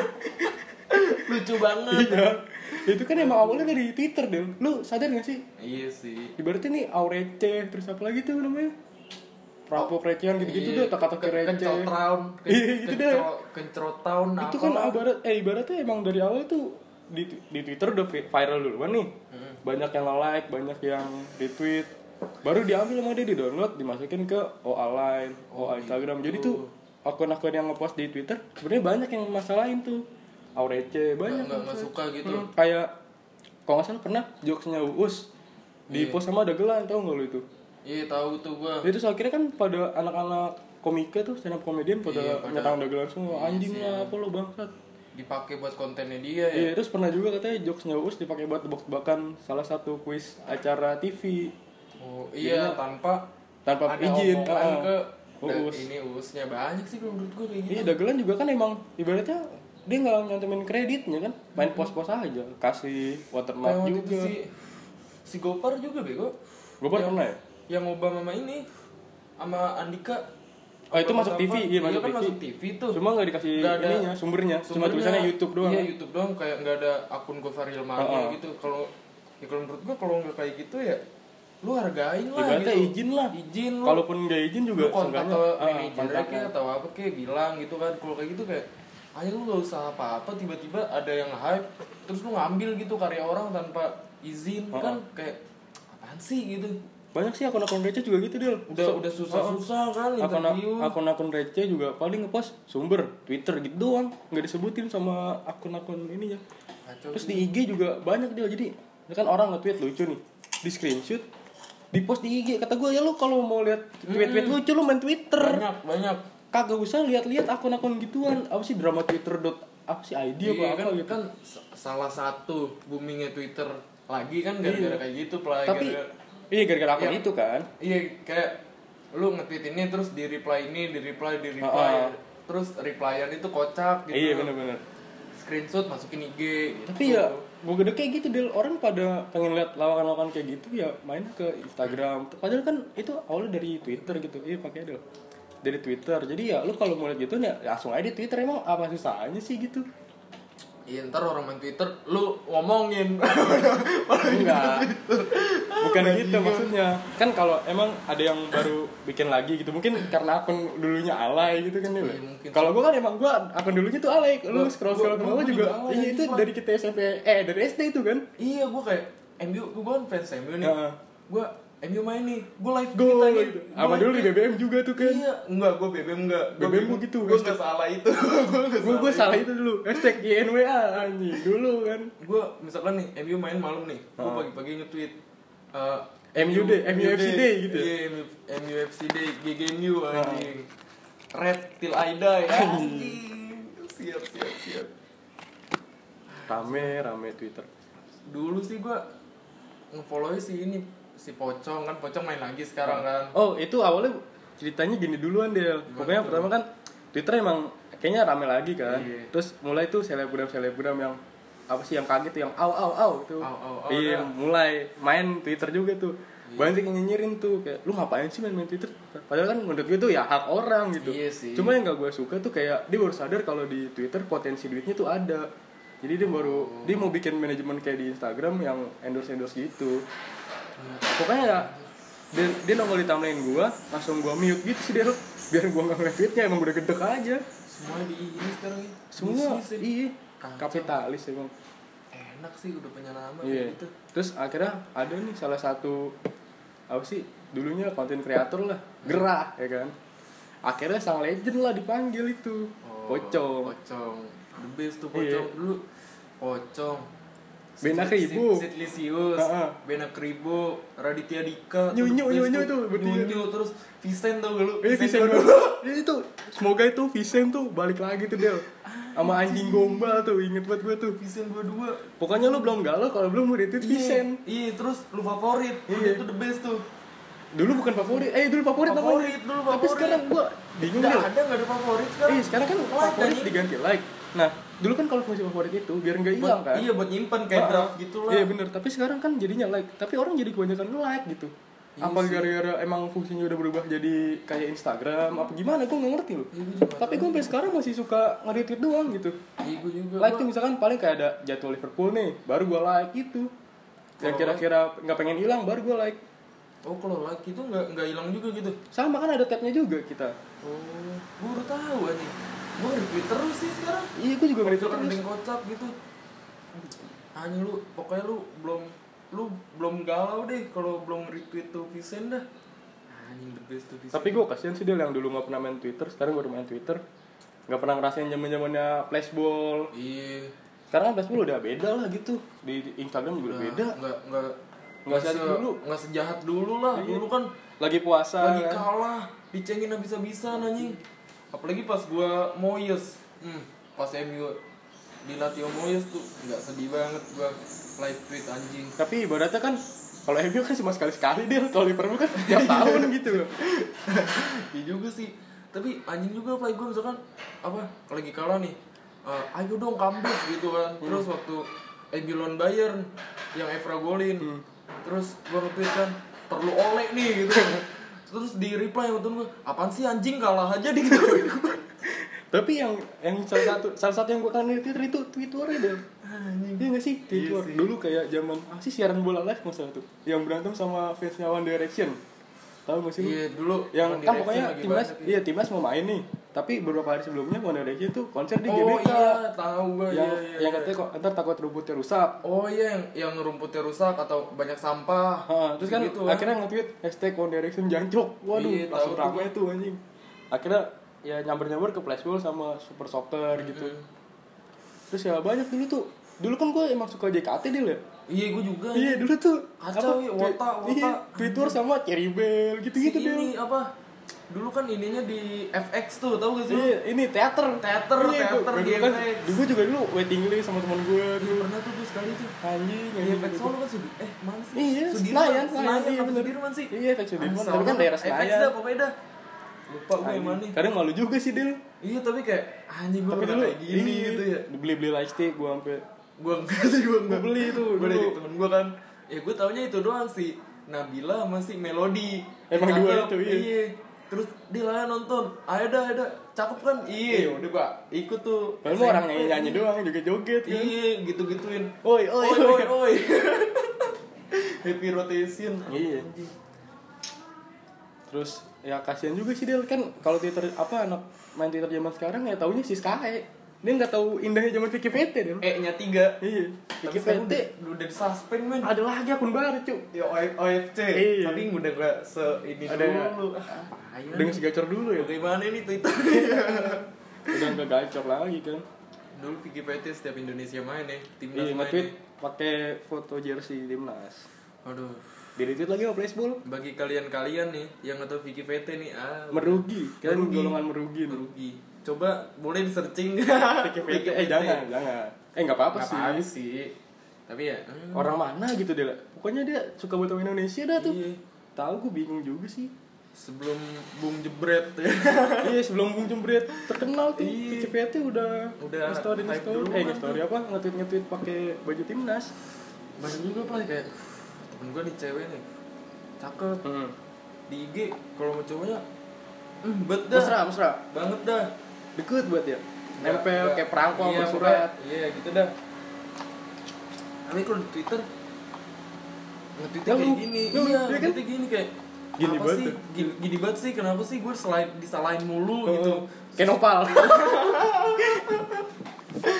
Lucu banget. Iya. Itu kan emang awalnya dari Twitter deh. Lu sadar gak sih? Iya sih. Ibaratnya nih Aurece, terus apa lagi tuh namanya? Perampok recehan gitu-gitu deh, teka-teki receh. Iya, gitu deh. Kencrotown. Itu kan ibaratnya emang dari awal tuh di Twitter udah viral duluan nih. Banyak yang like, banyak yang retweet. Baru diambil sama dia, di-download, dimasukin ke OA Line, OA Instagram. Jadi tuh akun-akun yang ngepost di Twitter sebenarnya banyak yang masalahin tuh. Aurece banyak nggak suka gitu. Kayak kalau nggak salah pernah jokesnya Uus di post sama Dagelan, tau nggak lu itu? Iya tahu tuh gua. Itu akhirnya kan pada anak-anak komika tuh, stand up comedian pada nyerang Dagelan semua. Anjing lah, apa lo bangsat. Dipakai buat kontennya dia ya. Iya, terus pernah juga katanya jokesnya Uus dipakai buat tebak-tebakan salah satu kuis acara TV. Oh iya, tanpa izin ke Uus. Ini Uusnya banyak sih kalau menurut gua kayak gitu. Iya, Dagelan juga kan emang ibaratnya dia nggak nyantumin kreditnya kan, main pos-pos aja, kasih watermark juga. Si Gopar juga bego. Gopar pernah ya? Yang Obama sama ini sama Andika. Oh itu masuk TV, iya masuk TV tuh. Cuma nggak dikasih ininya, sumbernya. Cuma tulisannya YouTube doang. Iya YouTube doang, kayak nggak ada akun Gofar Hilmania gitu. Kalau menurut gua kalau nggak kayak gitu ya, lu hargain lah. Ibaratnya gitu. izin lu. Kalaupun nggak izin juga lu kontak ke manajernya kayak atau apa kayak bilang gitu kan. Kalau kayak gitu kayak aja lu gak usah apa-apa, tiba-tiba ada yang hype terus lu ngambil gitu karya orang tanpa izin. Kan kayak apaan sih gitu. Banyak sih akun-akun receh juga gitu Del. Udah susah-susah kan interview. Akun-akun receh juga paling ngepost sumber Twitter gitu doang, nggak disebutin sama akun-akun ininya. Terus di IG juga banyak Del. Jadi kan orang nge-tweet lucu nih, di screenshot, di post di IG. Kata gue ya lu kalau mau lihat tweet-tweet lucu lu main Twitter. Banyak. Kagak usah lihat-lihat akun-akun gituan. Apa sih drama Twitter apa sih ID apa kan, gitu. Kan salah satu boomingnya Twitter lagi kan gara-gara kayak gitu lah. Tapi gara-gara akun itu kan. Iya kayak lu nge-tweet ini terus di reply terus replyan itu kocak gitu. Iya benar-benar. Screenshot masukin IG gitu. Tapi ya gue gede kayak gitu Del. Orang pada pengen lihat lawakan-lawakan kayak gitu ya main ke Instagram. Padahal kan itu awalnya dari Twitter gitu. Iya pakai Del. Dari Twitter. Jadi ya lu kalau mau lihat gitu ya langsung aja di Twitter. Emang apa susahnya sih gitu? Iya ntar orang main Twitter lu ngomongin. Enggak. Bukan gitu maksudnya. Kan kalau emang ada yang baru bikin lagi gitu, mungkin karena akun dulunya alay gitu kan ya. Kalau gua kan emang akun dulunya tuh alay. Lu scroll ke bawah juga. Iya itu dari kita SMP dari SD itu kan. Iya gua kayak gua kan fans MU nih. Gua MU main nih, gue live gitu. Apa dulu di BBM juga tuh kan? Iya, enggak, gue BBM enggak. BBM gue gitu. Gue gak salah itu. Gue salah itu dulu. Hashtag YNWA anjing dulu kan. Gue misalkan nih, MU main malam nih, gue pagi-pagi nge-tweet MUFC Day gitu. Iya, MUFC Day, GGMU anjing. Red till I die anjing. Siap. Rame Twitter. Dulu sih gue nge-follow si Pocong main lagi sekarang kan. Oh itu awalnya ceritanya gini duluan Del. Pokoknya pertama kan Twitter emang kayaknya rame lagi kan. Terus mulai tuh selebgram yang apa sih yang kaget tuh yang au itu. Iya mulai main Twitter juga tuh. Banyak yang nyinyirin tuh kayak lu ngapain sih main Twitter? Padahal kan menurut gue tuh ya hak orang gitu. Iya sih. Cuma yang gak gue suka tuh kayak dia baru sadar kalau di Twitter potensi duitnya tuh ada. Jadi dia mau bikin manajemen kayak di Instagram yang endorse gitu. Pokoknya ya dia nongol di timeline gue, langsung gue mute gitu sih dia, biar gue nggak ngeliat tweetnya, emang udah gedek aja. Semua di ini sekarang ya. Semua iya kapitalis emang. Enak sih udah punya nama gitu. Terus akhirnya ada nih salah satu apa sih dulunya konten kreator lah, gerah ya kan. Akhirnya sang legend lah dipanggil itu. Pocong. The best tuh Pocong dulu. Pocong. Benak Ribu, Sitlisius, Benak Ribu, Raditya Dika, Nyunyu tuh, Nyunyu terus Vincent tuh lu. Vincent itu, semoga itu Vincent tuh balik lagi tuh Del. Sama anjing gombal tuh, inget banget gue tuh. Vincent 22. Pokoknya lu belum galau kalau belum retweet Vincent. Iya, terus lu favorit. Itu the best tuh. Dulu bukan favorit, dulu favorit namanya. Tapi sekarang gua bingung Del. Enggak ada favorit sekarang. Sekarang kan favorit diganti like. Nah, dulu kan kalau fungsi favorit itu biar nggak hilang kan? Iya, buat nyimpen kayak draft gitu lah. Iya bener, tapi sekarang kan jadinya like. Tapi orang jadi kebanyakan like gitu. Apa gara-gara emang fungsinya udah berubah jadi kayak Instagram apa gimana? Gue nggak ngerti loh. Tapi gue sampai sekarang masih suka nge-retweet doang gitu. Iya, gue juga. Like tuh misalkan paling kayak ada jadwal Liverpool nih, baru gue like gitu. Yang kira-kira nggak pengen hilang, baru gue like. Oh, kalau like itu nggak hilang juga gitu? Sama kan ada tabnya juga kita. Oh, gue baru tahu aja. Gue retweet terus sih sekarang. Iya, gue juga retweet terus. Ada kocak gitu. Hanya lu, pokoknya lu belum galau deh kalau belum retweet tuh Vincent dah. Anjing the best tuh Vincent. Tapi gue kasihan sih dia yang dulu nggak pernah main Twitter, sekarang baru main Twitter. Nggak pernah ngerasain zamannya flashball. Iya. Sekarang flashball udah beda lah gitu. Di Instagram juga udah beda. Nggak sejahat dulu lah. Iya. Dulu kan lagi puasa. Lagi kalah, dicengin habis-habisan anjing. Apalagi pas gua Moyes. Pas MU dilatih Moyes tuh enggak sedih banget gua live tweet anjing. Tapi ibaratnya kan kalau MU kan cuma sekali-sekali dia, kalau Liverpool kan tiap tahun gitu loh. Iya juga sih. Tapi anjing juga play gua misalkan apa lagi kalah nih. Ayo dong comeback gitu kan. Terus waktu MU lawan Bayern yang Evra golin. Terus gue nge-tweet kan perlu oleh nih gitu. Terus di reply sama temen gue, apaan sih anjing kalah aja di gitu. Tapi yang salah satu yang gue kangen di Twitter itu Twitternya deh. Iya nggak sih Twitter? Iya, dulu kayak zaman sih siaran bola live masalah tuh, yang berantem sama fansnya One Direction. Tahu nggak sih lu? Iya dulu. Yang kan pokoknya timnas mau main nih. Tapi beberapa hari sebelumnya One Direction tuh konser di GBK. Oh iya, tahu gue. Yang katanya kok ntar takut rumputnya rusak. Oh iya, yang rumputnya rusak atau banyak sampah. Terus kan gitu, akhirnya nge-tweet #One Direction jancok. Waduh, langsung ramai tuh anjing. Akhirnya ya nyamber-nyamber ke flashball sama super soccer gitu. Terus ya banyak dulu kan gue emang suka JKT dia ya. Iya, gue juga. Iya, dulu tuh kacau ya, Wota. Iya, Twitter sama Cherry Bell gitu-gitu dia. Ini apa? Dulu kan ininya di FX tuh, tahu gak sih? Iya, ini teater di kan, FX. Gue juga dulu waiting list sama teman gue tuh. Pernah tuh sekali tuh. Anjing, di FX Solo kan mana sih? Iya, Senayan iya, Sudirman sih. Iya, FX Sudirman, tapi kan daerah Senayan. FX dah pokoknya dah. Lupa gue yang mana. Kadang malu juga sih, Del. Iya, tapi kayak anjing gue pernah kayak gini gitu ya. Beli lightstick gue sampai gue enggak beli itu. Gue dari temen gue kan. Ya gue taunya itu doang sih. Nabila masih Melody. Emang dua itu, iya. Terus dia lah nonton, ayo dah, cakep kan? Iya, udah gua ikut tuh. Kalau mau orang nyanyi doang, joget-joget kan? Iya, gitu-gituin. Oi. Happy rotation. Iya. Terus ya kasihan juga sih Del, kan kalau Twitter anak main Twitter zaman sekarang ya taunya si Sky. Dia nggak tahu indahnya zaman Vicky VT Del. E-nya 3. Iya. Vicky VT udah suspend men. Ada lagi akun baru cuy. Ya OFC. Iya. Tapi udah gak ini dulu. Dengan si gacor dulu ya. Bagaimana ini Twitter? Udah nggak gacor lagi kan. Dulu Vicky VT setiap Indonesia main ya, timnas main. Iya, nge-tweet pakai foto jersey timnas. Aduh. Di-retweet lagi sama flashball. Bagi kalian nih yang nggak tahu Vicky VT nih, merugi. Kan golongan merugi. Coba boleh di-searching. Vicky VT. Jangan. Nggak apa-apa sih. Tapi ya orang mana gitu dia. Pokoknya dia suka buat Indonesia dah tuh. Iya. Tahu gue bingung juga sih. Sebelum Bung Jebret. Iya, sebelum Bung Jebret terkenal tuh. Vicky VT udah nge-story apa? Nge-tweet pakai baju timnas. Banyak juga play kayak temen gue nih cewek nih. Cakep. Di IG kalau mau cowoknya bet dah. Mesra. Banget dah. Deket buat ya. Nempel kayak perangko sama surat. Iya, gitu dah. Tapi kalau di Twitter nge-tweetnya kayak gini. Iya, nge-tweetnya gini kayak gini banget sih, kenapa sih gue disalahin mulu gitu. Kayak nopal.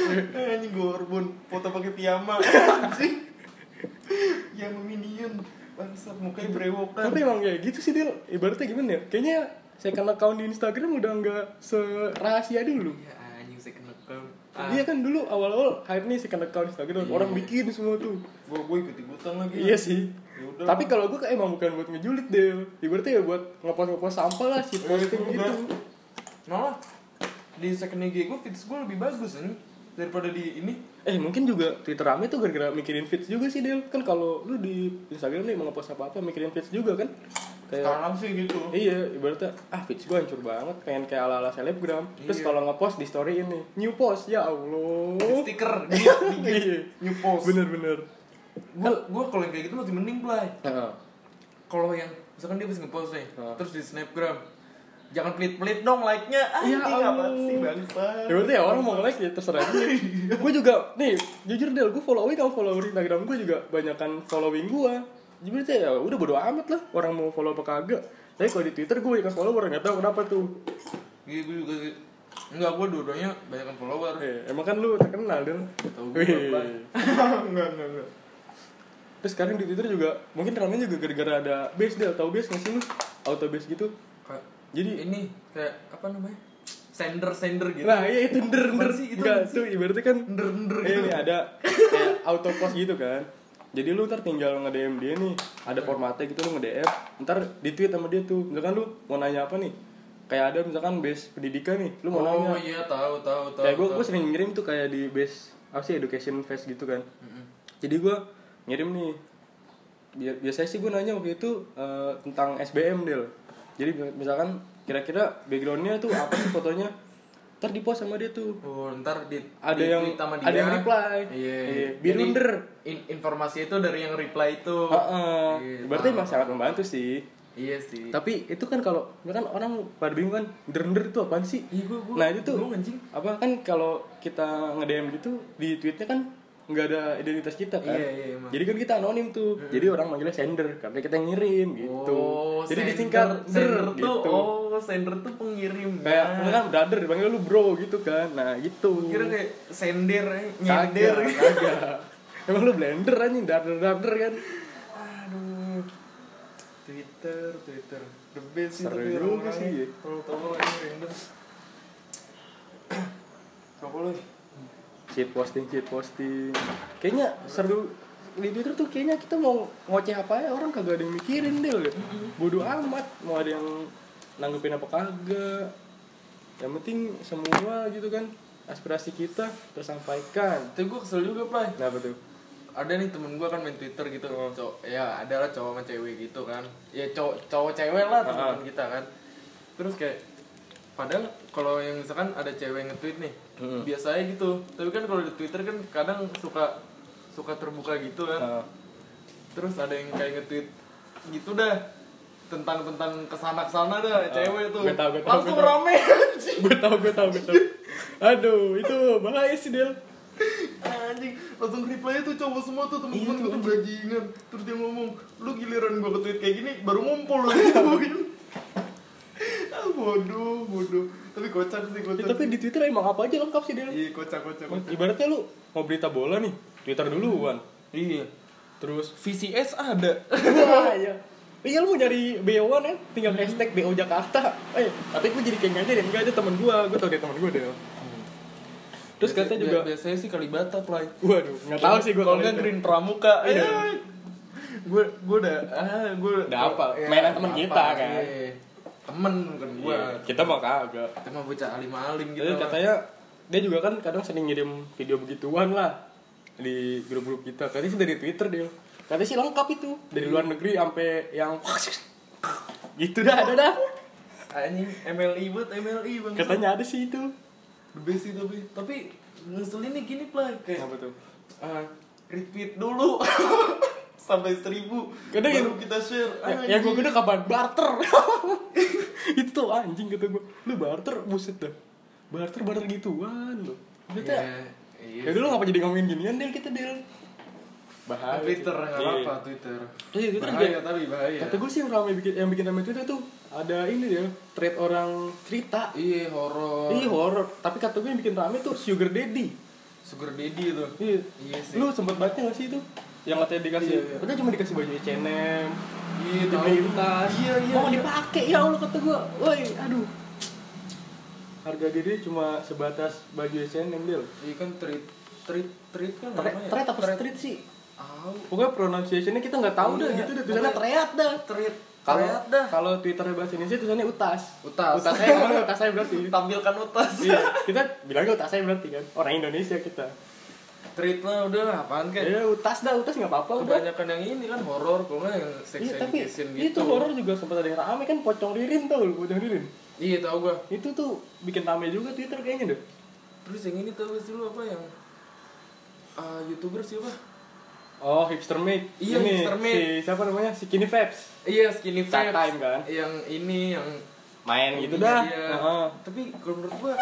Anjing Gorbun, foto pakai piyama. Anjing. Yang Minion. bangsat mukanya brewokan. Tapi emang kayak gitu sih Del. Ibaratnya gimana ya? Kayaknya second account di Instagram udah nggak serahasia dulu. Iya anjing second account. Iya kan dulu awal-awal hype nih second account Instagram, orang bikin semua tuh. Gue ikut-ikutan lagi. Iya sih. Yaudah. Tapi kalau gue emang bukan buat ngejulit Del. Ibaratnya ya buat ngepost sampah lah sih posting gitu. Malah di second IG gue feeds gue lebih bagus nih daripada di ini. Mungkin juga Twitter rame tuh gara-gara mikirin feeds juga sih Del. Kan kalau lu di Instagram nih mau ngepost apa-apa mikirin feeds juga kan. Kayak, sekarang sih gitu. Iya, ibaratnya feeds gue hancur banget, pengen kayak ala-ala selebgram. Terus kalau ngepost di story ini, new post, ya Allah. Stiker dia new post. Bener. Gue kalau yang kayak gitu masih mending play. Kalau yang misalkan dia habis ngepost nih, terus di snapgram, jangan pelit-pelit dong like-nya. Iya, apa sih bangsa. Ya berarti ya orang mau nge-like ya terserah dia. Gue juga, nih jujur Del, gue following sama follower Instagram gue juga banyakan following gue. Jadi berarti ya udah bodo amat lah orang mau follow apa kagak. Tapi kalau di Twitter gue ikan follower nggak tahu kenapa tuh. Iya gue juga sih. Enggak, gue dua-duanya banyakan follower. Emang kan lu terkenal Del. Tahu gue enggak. Terus sekarang di Twitter juga mungkin ramenya juga gara-gara ada base Del, tahu base nggak sih lu? Auto base gitu. Jadi ini kayak apa namanya? Sender gitu. Nah, iya itu nder. Enggak tuh ibaratnya kan nder gitu. Ini ada kayak auto post gitu kan. Jadi lu ntar tinggal nge-DM dia nih, ada formatnya gitu lu nge-DM, ntar di-tweet sama dia tuh. Misalkan lu mau nanya apa nih? Kayak ada misalkan base pendidikan nih, lu mau nanya. Oh iya, tahu. Kayak gue sering ngirim tuh kayak di base apa sih education fest gitu kan. Jadi gue ngirim nih. Biasanya sih gue nanya waktu itu tentang SBM Del. Jadi misalkan kira-kira backgroundnya tuh apa sih fotonya? Ntar di post sama dia tuh. Oh, ntar ada yang sama dia. Ada yang reply. Iya. Birunder. Informasi itu dari yang reply itu. Iya, berarti emang sangat membantu sih. Iya sih. Tapi itu kan kalau kan orang pada bingung kan, nder itu apaan sih? Iya, gua nah itu tuh anjing. apa kan kalau kita nge-DM gitu di tweetnya kan nggak ada identitas kita kan. Iya, emang. Jadi kan kita anonim tuh. Jadi orang manggilnya sender karena kita yang ngirim gitu. Jadi disingkat sender gitu. tuh. Sender tuh pengirim. Kayak kan brother dipanggil lu bro gitu kan. Nah, gitu. Kira kayak sender, nyender. Kagak. Emang lu blender anjing, darder kan. Aduh. Twitter. The best sih Seru tapi juga sih. Kalau tahu ini random. Apa lu? Shit posting. Kayaknya seru di Twitter tuh kayaknya kita mau ngoceh apa ya orang kagak ada yang mikirin Del. Bodoh amat mau ada yang nanggepin apa kagak. Yang penting semua gitu kan aspirasi kita tersampaikan. Tapi gue kesel juga, Play. Nah, betul. Ada nih temen gue kan main Twitter gitu. Ya adalah cowok sama cewek gitu kan. Ya cowok cewek lah teman kita kan. Terus kayak padahal kalau yang misalkan ada cewek nge-tweet nih, biasanya gitu. Tapi kan kalau di Twitter kan kadang suka terbuka gitu kan. Terus ada yang kayak nge-tweet gitu dah. Tentang kesana dah cewek tuh. Gue tahu. Langsung rame anjing. Gue tahu. Aduh, itu bahaya sih Del. Anjing, langsung reply tuh cowok semua tuh temen-temen gue tuh bajingan. Terus dia ngomong, lu giliran gue ke-tweet kayak gini baru ngumpul lu gituin. Bodoh. Tapi kocak sih. Tapi di Twitter emang apa aja lengkap sih Del. Iya, kocak. Ibaratnya lu mau berita bola nih, Twitter duluan. Iya. Terus VCS ada. wah iya. Iya lu mau nyari BO-an ya, tinggal hashtag BO Jakarta. Tapi gue jadi kayak ngajarin, enggak ada temen gue tau dia temen gue Del. Terus katanya juga biasanya sih Kalibata, Play. Waduh, enggak tahu sih gue kalau enggak Green Pramuka. Iya. Gue udah apa? Mainan temen kita kan. Iya. Temen bukan gue. Iya, kita mah kagak. Kita mah bocah alim-alim gitu. Jadi katanya dia juga kan kadang sering ngirim video begituan lah di grup-grup kita. Katanya sih dari Twitter Del. Katanya sih lengkap itu dari luar negeri sampai yang gitu ada. Anjing MLI bang. Katanya ada sih itu. The best sih tapi ngeselinnya gini Play kayak apa tuh? Retweet dulu sampai 1,000 kadang baru kita share. Yang gue gede kapan barter. Itu tuh anjing kata gue. Lu barter buset dah. Barter gituan lo. Kita ya dulu ngapa jadi ngomongin ginian Del kita Del. Bahaya. Twitter enggak apa-apa Twitter. Twitter bahaya tapi bahaya. Kata gue sih yang bikin rame Twitter tuh ada ini ya, thread orang cerita. Iya, horor. Tapi kata gue yang bikin rame tuh Sugar Daddy itu. Iya sih. Lu sempet baca gak sih itu? yang katanya dikasih, katanya cuma dikasih baju H&M. Iya, dibeliin tas. Iya. Mau dipakai ya Allah kata gua. Woi, aduh. Harga diri cuma sebatas baju H&M dia. Iya kan treat kan namanya. Treat apa street sih? Oh. Pokoknya pronunciation-nya kita enggak tahu dah gitu deh. Tulisannya treat dah. Kalau Twitternya bahasa Indonesia tulisannya utas. Utas saya berarti. Tampilkan utas. Iya, kita bilangnya utas saya berarti kan. Orang Indonesia kita. Treat lah udah apaan kan? Ya utas enggak apa-apa udah. Kebanyakan yang ini kan horor, kalau nggak yang sex education gitu. Itu horor juga sempat ada yang rame kan, pocong ririn tau lu, pocong ririn. Iya tahu gua. Itu tuh bikin rame juga Twitter kayaknya deh. Terus yang ini tahu sih lu apa yang YouTuber siapa? Oh, Hipster Mate. Iya, ini, Hipster Mate. Si siapa namanya? Si Skinny Vibes. Iya, Skinny Vibes. Chat time kan. Yang ini yang main gitu dah. Tapi kalau menurut gua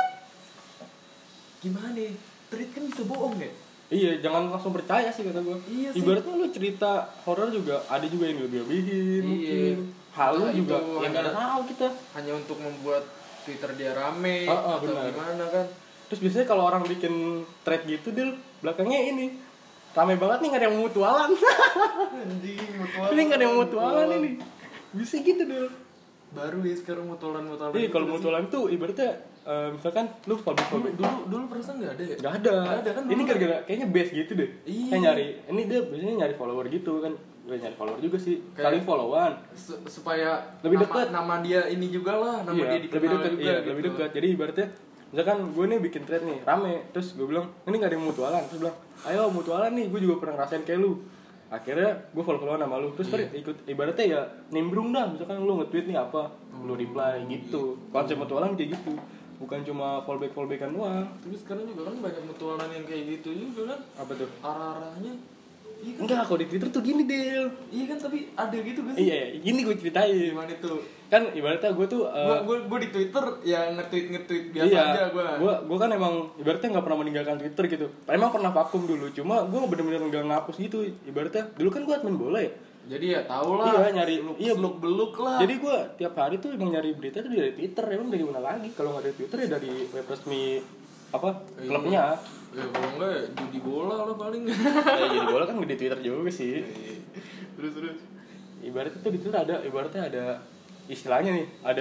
gimana nih? Treat kan bisa bohong ya? Iya, jangan langsung percaya sih kata gua. Iya sih. Ibaratnya lu cerita horor juga ada juga yang lebih-lebihin mungkin. Halu juga yang enggak tahu kita. Hanya untuk membuat Twitter dia rame atau benar. Gimana kan? Terus biasanya kalau orang bikin thread gitu dia belakangnya ini rame banget nih, nggak ada yang mutualan. Anjing, mutualan. Ini nggak ada yang mutualan ini. Bisa gitu deh. Baru ya sekarang mutualan. Iya, kalau mutualan tuh ibaratnya misalkan lu fallback. Dulu perasaan nggak ada ya? Nggak ada kan. Ini gara-gara kayaknya base gitu deh. Iya. Kayak nyari. Ini dia biasanya nyari follower gitu kan. Gue nyari follower juga sih. Saling followan. Supaya lebih dekat. Nama dia ini juga lah. Nama dia dikenal lebih dekat. juga. Iya, gitu. lebih dekat. Jadi ibaratnya misalkan gue nih bikin thread nih rame, terus gue bilang ini nggak ada yang mutualan, terus bilang ayo mutualan nih, gue juga pernah ngerasain kayak lu. Akhirnya gue follow-followan sama lu, terus ikut ibaratnya ya nimbrung dah. Misalkan lu nge-tweet nih apa, lu reply gitu. Konsep mutualan kayak gitu, bukan cuma fallbackan doang. Tapi sekarang juga kan banyak mutualan yang kayak gitu juga kan. Apa tuh? Arah-arahnya iya kan? Enggak, kalau di Twitter tuh gini Del. Iya kan, tapi ada gitu gak sih? Iya, gini gue ceritain. Gimana tuh? Kan ibaratnya gue tuh gue di Twitter ya nge-tweet biasa aja gue kan emang ibaratnya nggak pernah meninggalkan Twitter gitu. Emang pernah vakum dulu, cuma gue bener-bener nggak ngapus gitu. Ibaratnya dulu kan gue admin bola ya. Jadi ya tau lah. Iya, nyari beluk lah. Jadi gue tiap hari tuh emang nyari berita tuh dari Twitter. Emang dari mana lagi? Kalau nggak dari Twitter ya dari web resmi klubnya. Ya kalau enggak ya judi bola lah paling. Ya judi bola kan di Twitter juga sih. Terus ibaratnya tuh di Twitter ada istilahnya nih, ada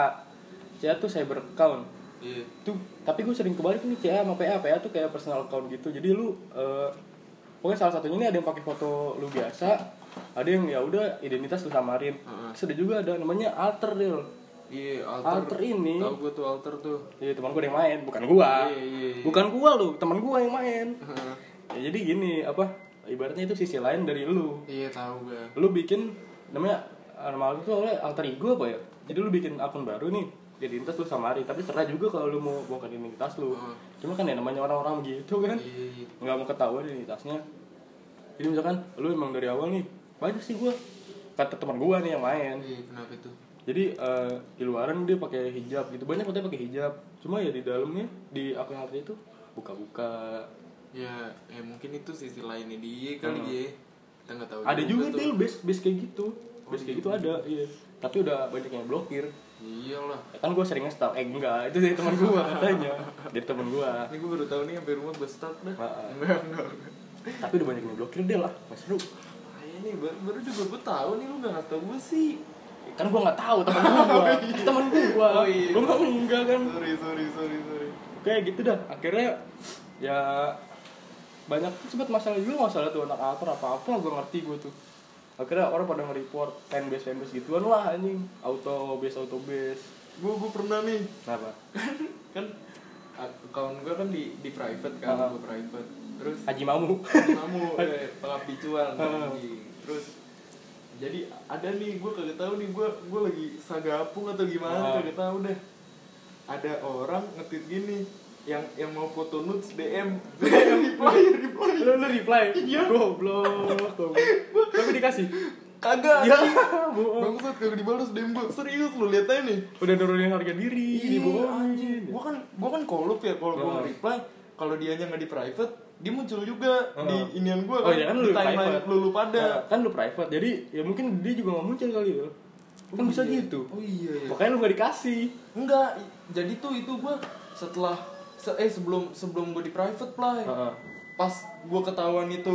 CA tuh cyber account. Iya. Tuh, tapi gue sering kebalik nih CA sama PA tuh kayak personal account gitu. Jadi lu pokoknya salah satunya ini ada yang pakai foto lu biasa, ada yang ya udah identitas lu samarin. Terus ada juga ada namanya alter Del. Iya, alter ini. Tahu gue tuh alter tuh. Iya, teman gue yang main, bukan gua. Iya. Bukan gua lu, teman gua yang main. Ya jadi gini, ibaratnya itu sisi lain dari lu. Iya, tahu gue. Lu bikin namanya normal itu oleh alter ego apa ya? Jadi lu bikin akun baru nih, identitas lu samarin, tapi terserah juga kalau lu mau bongkar identitas lu. Cuma kan ya namanya orang-orang gitu kan. Iya. Nggak mau ketahuan identitasnya. Jadi misalkan lu emang dari awal nih, banyak sih gua kata teman gua nih yang main. Iya, kenapa itu? Jadi di luaran dia pakai hijab gitu, banyak katanya pakai hijab. Cuma ya di dalamnya di akun alter itu buka-buka. Ya mungkin itu sisi lainnya dia kali ya. Kita nggak tahu. Ada juga tuh base kayak gitu. Base kayak gitu ada, iya. Tapi udah banyak yang blokir. Iyalah. Ya kan gue sering nge-stalk, enggak, itu dari teman gue katanya. Dari teman gue. Ini gue baru tahu nih sampai rumah gue stalk dah. Enggak. Tapi udah banyak yang blokir deh lah, Mas Ru. Ini baru juga gue tahu nih, lu nggak ngasih tau gue sih. Kan gue nggak tahu teman gue. Teman gue. Oh iya. Gue mah enggak kan. Sorry. Kayak gitu dah. Akhirnya ya banyak sempat masalah tuh anak alter apa gue ngerti gue tuh. Akhirnya orang pada nge-report fanbase gituan lah anjing. Auto base. Gue pernah nih. Kenapa? Kan account gue kan di private kan, gue private. Terus Haji Mamu pengabdi cuan. Terus jadi ada nih, gue kagak tahu nih, gue lagi sagapung atau gimana, kagak tahu deh. Ada orang nge-tweet gini, yang mau foto nudes DM. Lu reply. Iya. Goblok. Tapi dikasih. Kagak. Ya, bangsat kagak dibalas DM gue. Serius lu lihat aja nih. Udah nurunin harga diri. Iya, anjing. Gua kan kolup ya, kalau gua nge-reply, kalau dianya enggak di private, dia muncul juga di inian gua kan. Oh iya kan lu di timeline lu pada. Kan lu private. Jadi ya mungkin dia juga enggak muncul kali ya. Kan bisa gitu. Oh iya. Makanya lu enggak dikasih. Enggak. Jadi tuh itu gua setelah sebelum gue di private play. Pas gue ketahuan itu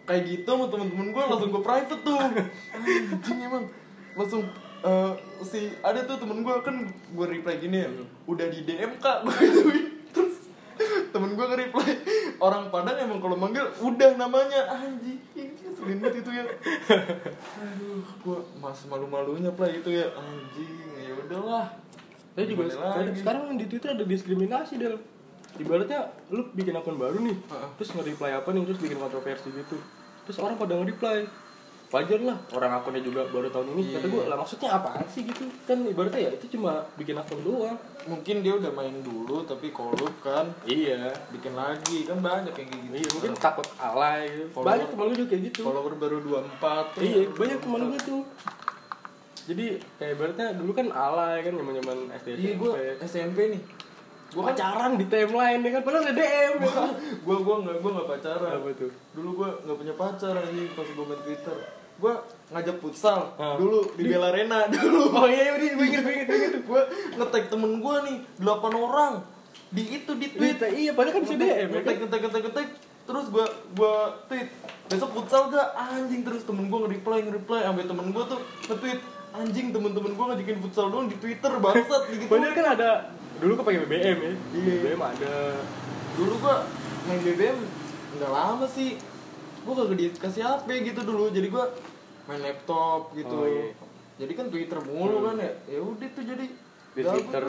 kayak gitu sama temen-temen gue langsung gue private tuh. Anjing emang langsung si ada tuh temen gue kan gue reply gini ya, udah di DM kak gue gituin. Terus temen gue nge-reply, orang Padang emang kalau manggil udah namanya. Anjing selin banget itu ya. Aduh gue masih malu-malunya play itu ya. Anjing ya udahlah. Saya juga sekarang di Twitter ada diskriminasi Del. Ibaratnya lu bikin akun baru nih, terus nge-reply apa nih, terus bikin kontroversi gitu. Terus orang pada nge-reply. Wajar lah, orang akunnya juga baru tahun ini. Kata gue, lah maksudnya apaan sih gitu? Kan ibaratnya ya itu cuma bikin akun doang. Mungkin dia udah main dulu tapi korup kan. Iya, bikin lagi kan banyak yang kayak gitu. Iya, mungkin takut alay gitu. Banyak temen gue juga kayak gitu. Follower baru 24 tuh. Iya, banyak temen gue tuh. Jadi kayak ibaratnya dulu kan alay kan zaman-zaman SD. Iya, gue SMP nih. Gue pacaran di timeline ya kan, padahal ada DM ya kan. Gue nggak pacaran. Apa tuh? Dulu gue nggak punya pacar anjing pas gue main Twitter. Gue ngajak futsal dulu di Bella Arena dulu. Oh iya, gue inget. Gue nge-tag temen gue nih 8 orang di tweet. Iya, padahal kan bisa DM. Nge-tag. Terus gue tweet besok futsal gak anjing, terus temen gue nge-reply sampai temen gue tuh nge-tweet anjing temen-temen gue ngajakin futsal doang di Twitter bangsat gitu. Padahal kan ada dulu kok pakai BBM ya. Iya. BBM ada. Dulu gue main BBM nggak lama sih. Gue kagak dikasih HP gitu dulu, jadi gue main laptop gitu. Oh, iya. Jadi kan Twitter mulu kan ya. Ya udah tuh jadi di Twitter,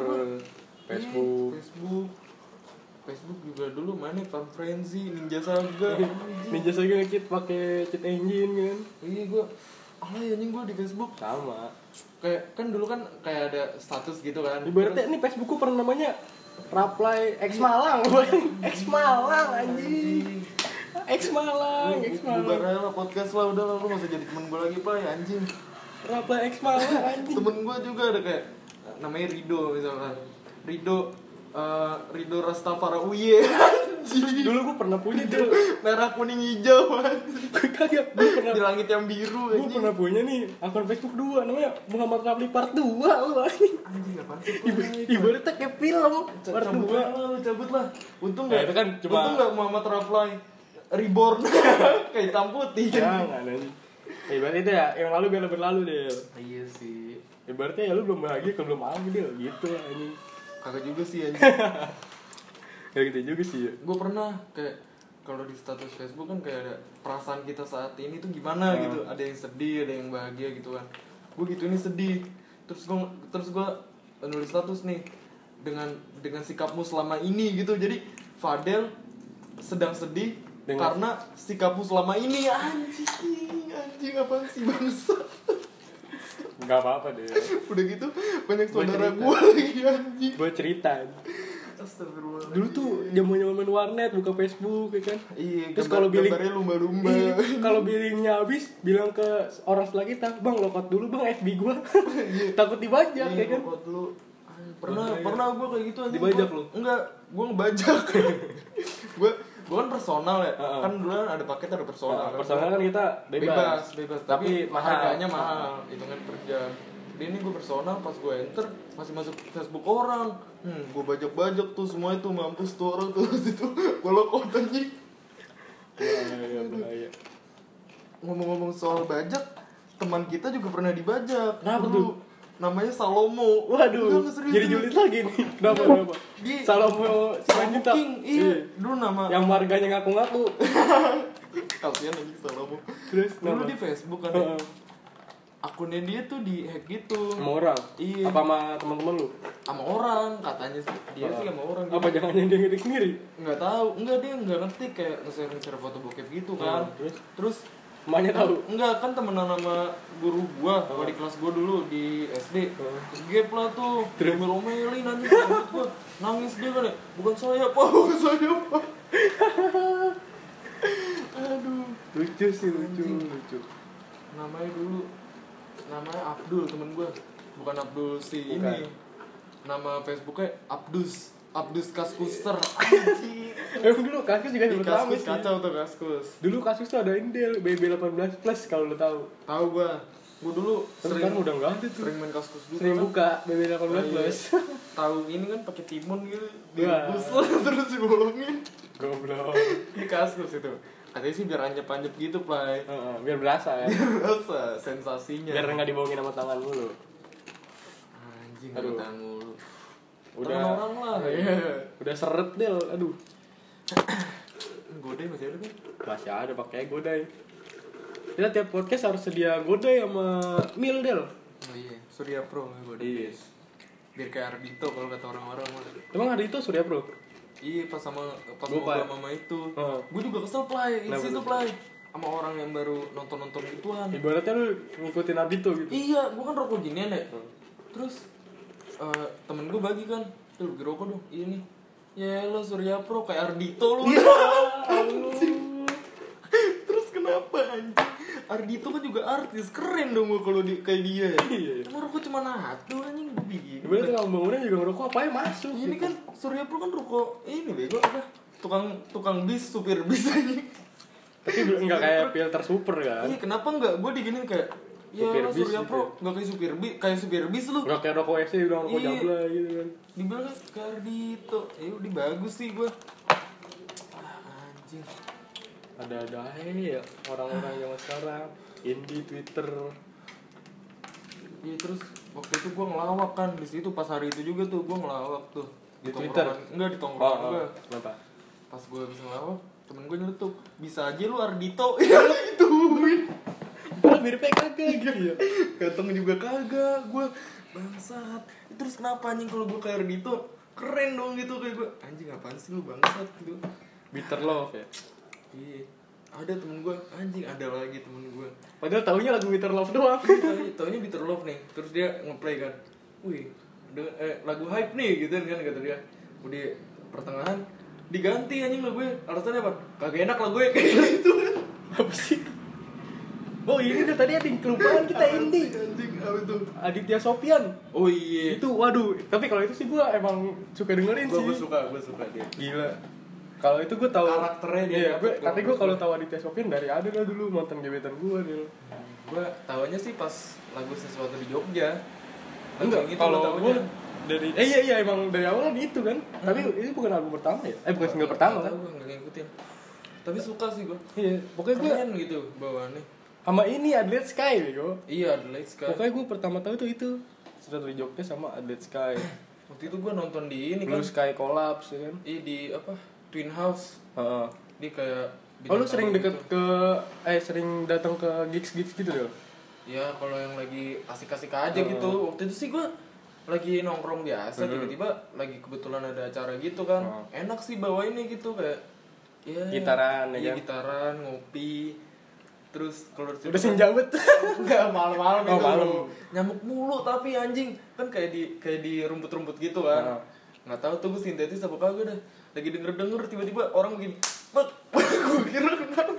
Facebook juga dulu mainnya Farm Frenzy, Ninja Saga. Ninja Saga ngekit pakai cheat engine kan. Iya gue anjing gue di Facebook sama. Kayak kan dulu kan kayak ada status gitu kan. Ibaratnya ini Facebookku pernah namanya Reply X Malang. X Malang anjing. X Malang. Bubar lah podcast lah, udah lah lu gak usah jadi temen gue lagi Pak anjing. Reply X Malang anjing. Temen gue juga ada kayak namanya Rido misalkan. Rido Rastafara Uye. Dulu gue pernah punya tuh merah kuning hijau anjing. Kagak, gue pernah di langit yang biru anjing. Gue pernah punya nih akun Facebook 2 namanya Muhammad Rafli Part 2 lu anjing. Apaan sih? Ibaratnya kayak film Part 2. Lu cabut lah. Untung enggak. Itu kan cuma untung enggak Muhammad Rafli Reborn kayak hitam putih. Jangan anjing. Ibaratnya itu ya, yang lalu biar berlalu deh. Iya sih. Ibaratnya ya lu belum bahagia kalau belum bahagia deh gitu anjing. Kagak juga sih anjing. Kayak gitu juga sih ya. Gue pernah kayak kalau di status Facebook kan kayak ada perasaan kita saat ini tuh gimana gitu. Ada yang sedih, ada yang bahagia gitu kan. Gue gitu ini sedih. Terus gue nulis status nih dengan sikapmu selama ini gitu. Jadi Fadel sedang sedih karena sikapmu selama ini. Anjing apaan sih bangsa. Enggak apa-apa deh. Udah gitu banyak saudara gue lagi anjing. Gue cerita. Astagfirullah. Dulu tuh jaman-jaman main warnet buka Facebook ya kan. Iya, terus kalau billing lumba-lumba. Iya, kalau billingnya habis bilang ke orang sebelah kita, "Bang, logout dulu Bang FB gua." Takut dibajak ya kan. Logout dulu. Pernah gue kayak gitu anjing. Dibajak lu? Enggak, gue ngebajak. gue kan personal ya. Kan dulu kan ada paket ada personal. Personal kan kita bebas. Tapi harganya mahal, hitungan per jam. Dia ini gue personal, pas gue enter masih masuk Facebook orang. Gue bajak-bajak tuh semua itu, mampus tuh orang tuh situ. Gue logout anjing. Bahaya. Ngomong-ngomong soal bajak, teman kita juga pernah dibajak. Kenapa tuh? Namanya Salomo. Waduh. Jadi julid lagi nih. Kenapa? Salomo selanjutnya. Iya. Dulu nama yang marganya ngaku-ngaku. Kasian lagi Salomo. Terus dulu di Facebook kan. Akunnya dia tuh di hack gitu. Sama orang? Iya. Apa sama teman-teman lu? Sama orang katanya sih. Dia sih sama orang. Apa jangan-jangan dia ngetik sendiri? Enggak tahu. Enggak, dia enggak ngetik, kayak nge-share foto bokep gitu kan. Terus emaknya tahu? Enggak, kan temenan sama guru gua, di kelas gua dulu di SD. Terus gap lah tuh, omel-omelin nanti gua. Nangis dia kan ya. Bukan saya, Pak. Aduh, lucu sih, lucu. Namanya Abdul, temen gua. Bukan Abdul si bukan. ini. Nama Facebooknya Abdus Kaskuser. Dulu Kaskus juga sebut Kaskus kacau tuh Kaskus. Dulu Kaskus tuh ada Indel BB18 plus kalau lo tahu. Tahu gua dulu sering kan udah enggak ada tuh. Sering main Kaskus dulu. Sering buka BB18 plus. Tahu ini kan pakai timun gitu. Direbus terus dibolongin. Goblok. Di Kaskus itu. Katanya sih biar anjep-anjep gitu, Play. Biar berasa ya. Biar berasa sensasinya. Biar enggak dibohongin sama tangan mulu. Anjing, tangan mulu. Udah orang lah. Iya. Udah seret Del, aduh. Godai masih ada kan? Masih ada pakai Godai. Kita tiap podcast harus sedia Godai sama Mil Del. Oh iya, Surya Pro Godai. Yes. Biar kayak Ardito kalau kata orang-orang mah. Emang Ardito Surya Pro? Iya, pas ngobrol mama itu. Gue juga kesel, Play. Isi itu, Play. Sama orang yang baru nonton gituan. Ibaratnya lu ngikutin Ardito gitu. Iya, gue kan rokok ginian ya. Terus temen gue bagi kan, tuh bagi rokok dong. Iya nih. Ya lo Surya Pro kayak Ardito lu. Terus kenapa anjing? Ardito kan juga artis, keren dong gue kalau kayak dia. Iya. Emang rokok cuma satu anjing gue bikin. Berarti kalau bangunan juga ngerokok apa ya masuk. Ini kan Surya Pro kan rokok ini bego apa? Tukang bis, supir bis anjing. Tapi enggak kayak filter super kan? Iya, kenapa enggak? Gue diginin kayak ya lo Surya Pro enggak kayak supir bis lu. Enggak kayak rokok SC udah rokok jabla gitu kan. Dibilang kayak Ardito. Udah bagus sih gue. Anjing. Ada ya orang-orang yang sekarang Indie Twitter. Iya, terus waktu itu gue ngelawak kan di situ pas hari itu juga tuh gue ngelawak tuh di Twitter. Enggak di tongkrongan gue. Kenapa? Pas gue habis ngelawak, temen gue nyeletuk, bisa aja lu Ardito. Ya gituin. Kalau miripnya kagak gitu ya. Ganteng juga kagak, gue bangsat. Terus kenapa anjing kalau gue kayak Ardito keren dong gitu kayak gue. Anjing apaan sih lu bangsat gitu. Bitter love ya. Iya. Ada temen gue, anjing ada lagi temen gue. Padahal taunya lagu Bitter Love doang. Taunya Bitter Love nih. Terus dia nge-play kan. Wih, lagu hype nih gitu kan kata dia. Udah pertengahan diganti anjing lagunya. Alasannya apa? Kagak enak lagunya kayak gitu. Apa sih? Oh ini tuh tadi ada yang kelupaan kita Indie. Anjing apa itu? Aditya Sofyan. Oh iya. Itu waduh, tapi kalau itu sih gue emang suka dengerin sih. Gue suka dia. Gila. Kalau itu gue tahu karakternya dia. Iya, tapi gue kalau tahu Aditya Sofyan dari ada lah dulu mantan gebetan gue dia. Gue tahunya sih pas lagu Sesuatu di Jogja. Enggak, gitu, kalau gue dari iya emang dari awal itu kan. Tapi ini bukan album pertama ya? Bukan single pertama kan? Gue enggak ngikutin. Tapi suka sih gue. Iya, pokoknya gue keren gitu bawaannya. Sama ini Adelaide Sky bego. Iya, Adelaide Sky. Pokoknya gue pertama tahu tuh itu Sesuatu di Jogja sama Adelaide Sky. Waktu itu gue nonton di ini Blue kan. Sky Collapse ya kan. Iya di apa? Twin House. Dia kayak oh lu sering deket gitu. Sering datang ke gigs gitu deh? Ya kalau yang lagi asik-asik aja gitu. Waktu itu sih gue lagi nongkrong biasa, tiba-tiba lagi kebetulan ada acara gitu kan. Enak sih bawainnya gitu kayak ya gitaran ya kan? Gitaran, ngopi. Terus kalau udah senjawet. enggak malam-malam itu. Malam. Nyamuk mulu tapi anjing. Kan kayak di rumput-rumput gitu kan. Nggak tahu tuh gue sintetis apa kagak dah. Lagi denger tiba-tiba orang begini. Bek. Gue kira kenapa.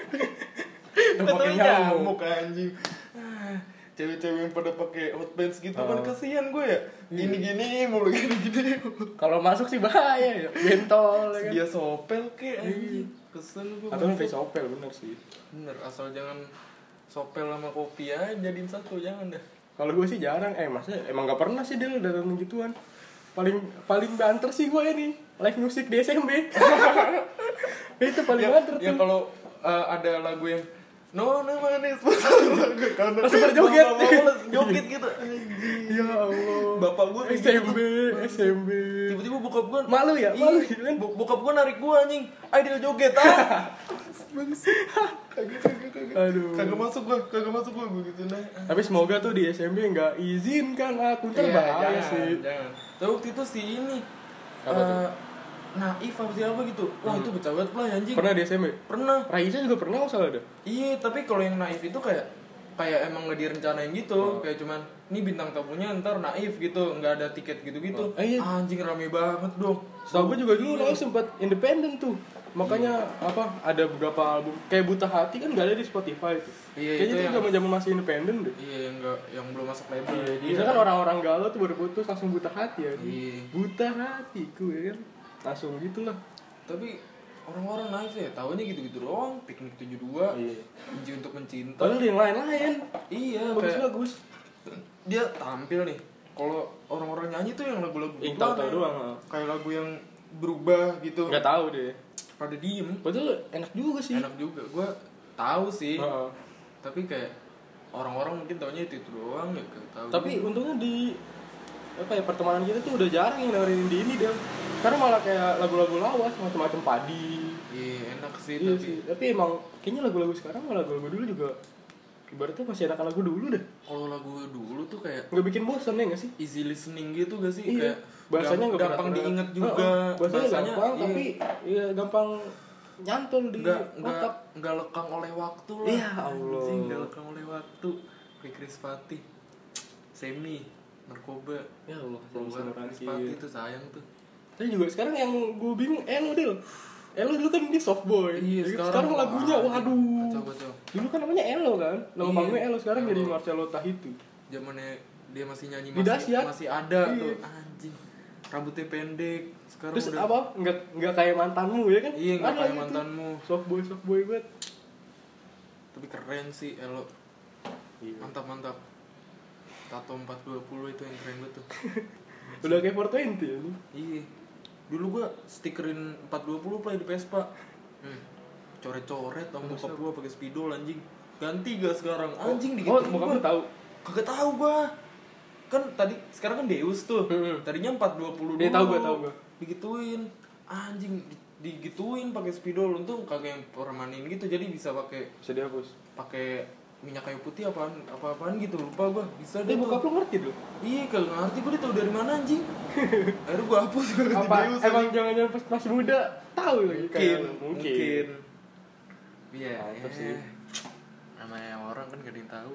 Katanya nyamuk anjing. Cewek-cewek yang pada pakai hot pants gitu kan kasihan gue ya. Gini-gini mulu gini-gini. Kalau masuk sih bahaya ya. Bentol ya kan. Dia sopel kayak anjing. Kesel gue. Atau face sopel bener sih. Bener, asal jangan sopel sama kopi aja jadiin satu, jangan dah. Kalau gue sih jarang, maksudnya emang gak pernah sih dia datang gituan. Paling banter sih gue ini live music di SMB. Itu paling banter tuh. Ya kalau ada lagu yang no manis karena langsung berjoget. Joget gitu. Ya Allah. Bapak gue SMB. Tiba-tiba bokap gue malu ya kan? Bokap gue narik gue anjing. Ayo joget Aduh. Kagak masuk gue gitu nah. Tapi semoga tuh di SMB enggak izinkan akun terbahaya sih. Jangan. Tapi waktu itu si ini Naif apa siapa gitu. Wah itu bocah banget lah anjing. Pernah di SMB? Pernah. Raisa juga pernah salah ada. Iya, tapi kalau yang Naif itu kayak emang nggak direncanain gitu. Kayak cuman ini bintang tamunya ntar Naif gitu, nggak ada tiket gitu-gitu. Iya. Anjing rame banget dong. Setahu gue juga dulu Naif sempat independen tuh. Makanya ada beberapa album kayak Buta Hati kan nggak ada di Spotify tuh. Iya, kayaknya itu zaman masih independen deh. Iya, yang belum masuk label. Iya, biasanya kan orang-orang galau tuh baru putus langsung Buta Hati ya. Iya. Buta hatiku ya kan. Langsung gitulah. Tapi orang-orang Naif ya tahunya gitu-gitu doang. Piknik 72. Iya. Benci untuk mencinta. Padahal yang lain-lain. Iya, bagus. Dia tampil nih. Kalau orang-orang nyanyi tuh yang lagu-lagu yang tahu doang. Kayak lagu yang berubah gitu. Enggak tahu deh. pada diem. Betul, enak juga sih. Enak juga, gue tahu sih. Tapi kayak orang-orang mungkin taunya itu doang ya, tahu. Tapi untungnya di pertemanan kita tuh udah jarang yang dengerin ini deh. Sekarang malah kayak lagu-lagu lawas, macam-macam padi. Iya, enak sih. Iya sih. Tapi emang kayaknya lagu-lagu sekarang malah lagu-lagu dulu juga ibaratnya masih enakan lagu dulu deh. Kalau lagu dulu tuh kayak nggak bikin bosan ya nggak sih? Easy listening gitu gak sih? Iya. Kayak bahasanya gampang diinget juga. Bahasanya gampang iya. Tapi iya gampang nyantol di otak. Nggak lekang oleh waktu lah. Iya Allah. Nggak lekang oleh waktu. Kayak Chris Fatih, Semi, Narkoba. Ya Allah. Chris Fatih tuh sayang tuh. Tapi juga sekarang yang gue bingung Elo dulu kan dia soft boy. Iya, sekarang lagunya waduh. Kacau. Dulu kan namanya Elo kan. Nama panggungnya Elo, sekarang jadi Marcelo Tahitu. Zamannya dia masih nyanyi masih ada tuh. Anjing. Rambutnya pendek. Sekarang terus udah apa? Enggak kayak mantanmu ya kan? Iya, enggak kayak gitu. mantanmu. Soft boy banget. Tapi keren sih Elo. Iya. Mantap. Tato 420 itu yang keren banget tuh. Udah kayak 420 ya nih. Iya. Dulu gua stikerin 420 play di Vespa. Coret-coret sama bokap gua pakai spidol anjing. Ganti gak sekarang? Anjing dikit. Bokap lu tahu? Kagak tahu gua. Kan sekarang kan Deus tuh. Tadinya 420 dulu. Iya, tahu gua. Digituin. Anjing digituin pakai spidol. Untung kagak yang permanen gitu, jadi bisa dihapus. Pakai minyak kayu putih apaan gitu, lupa gua. Bisa deh. Bokap lu ngerti dulu? Iya, kagak ngerti, gua tahu dari mana anjing. Akhirnya gua hapus apa Deus, emang jangan-jangan pas masih muda tahu lagi mungkin. Iya, sih. Namanya orang kan gak ada yang tahu.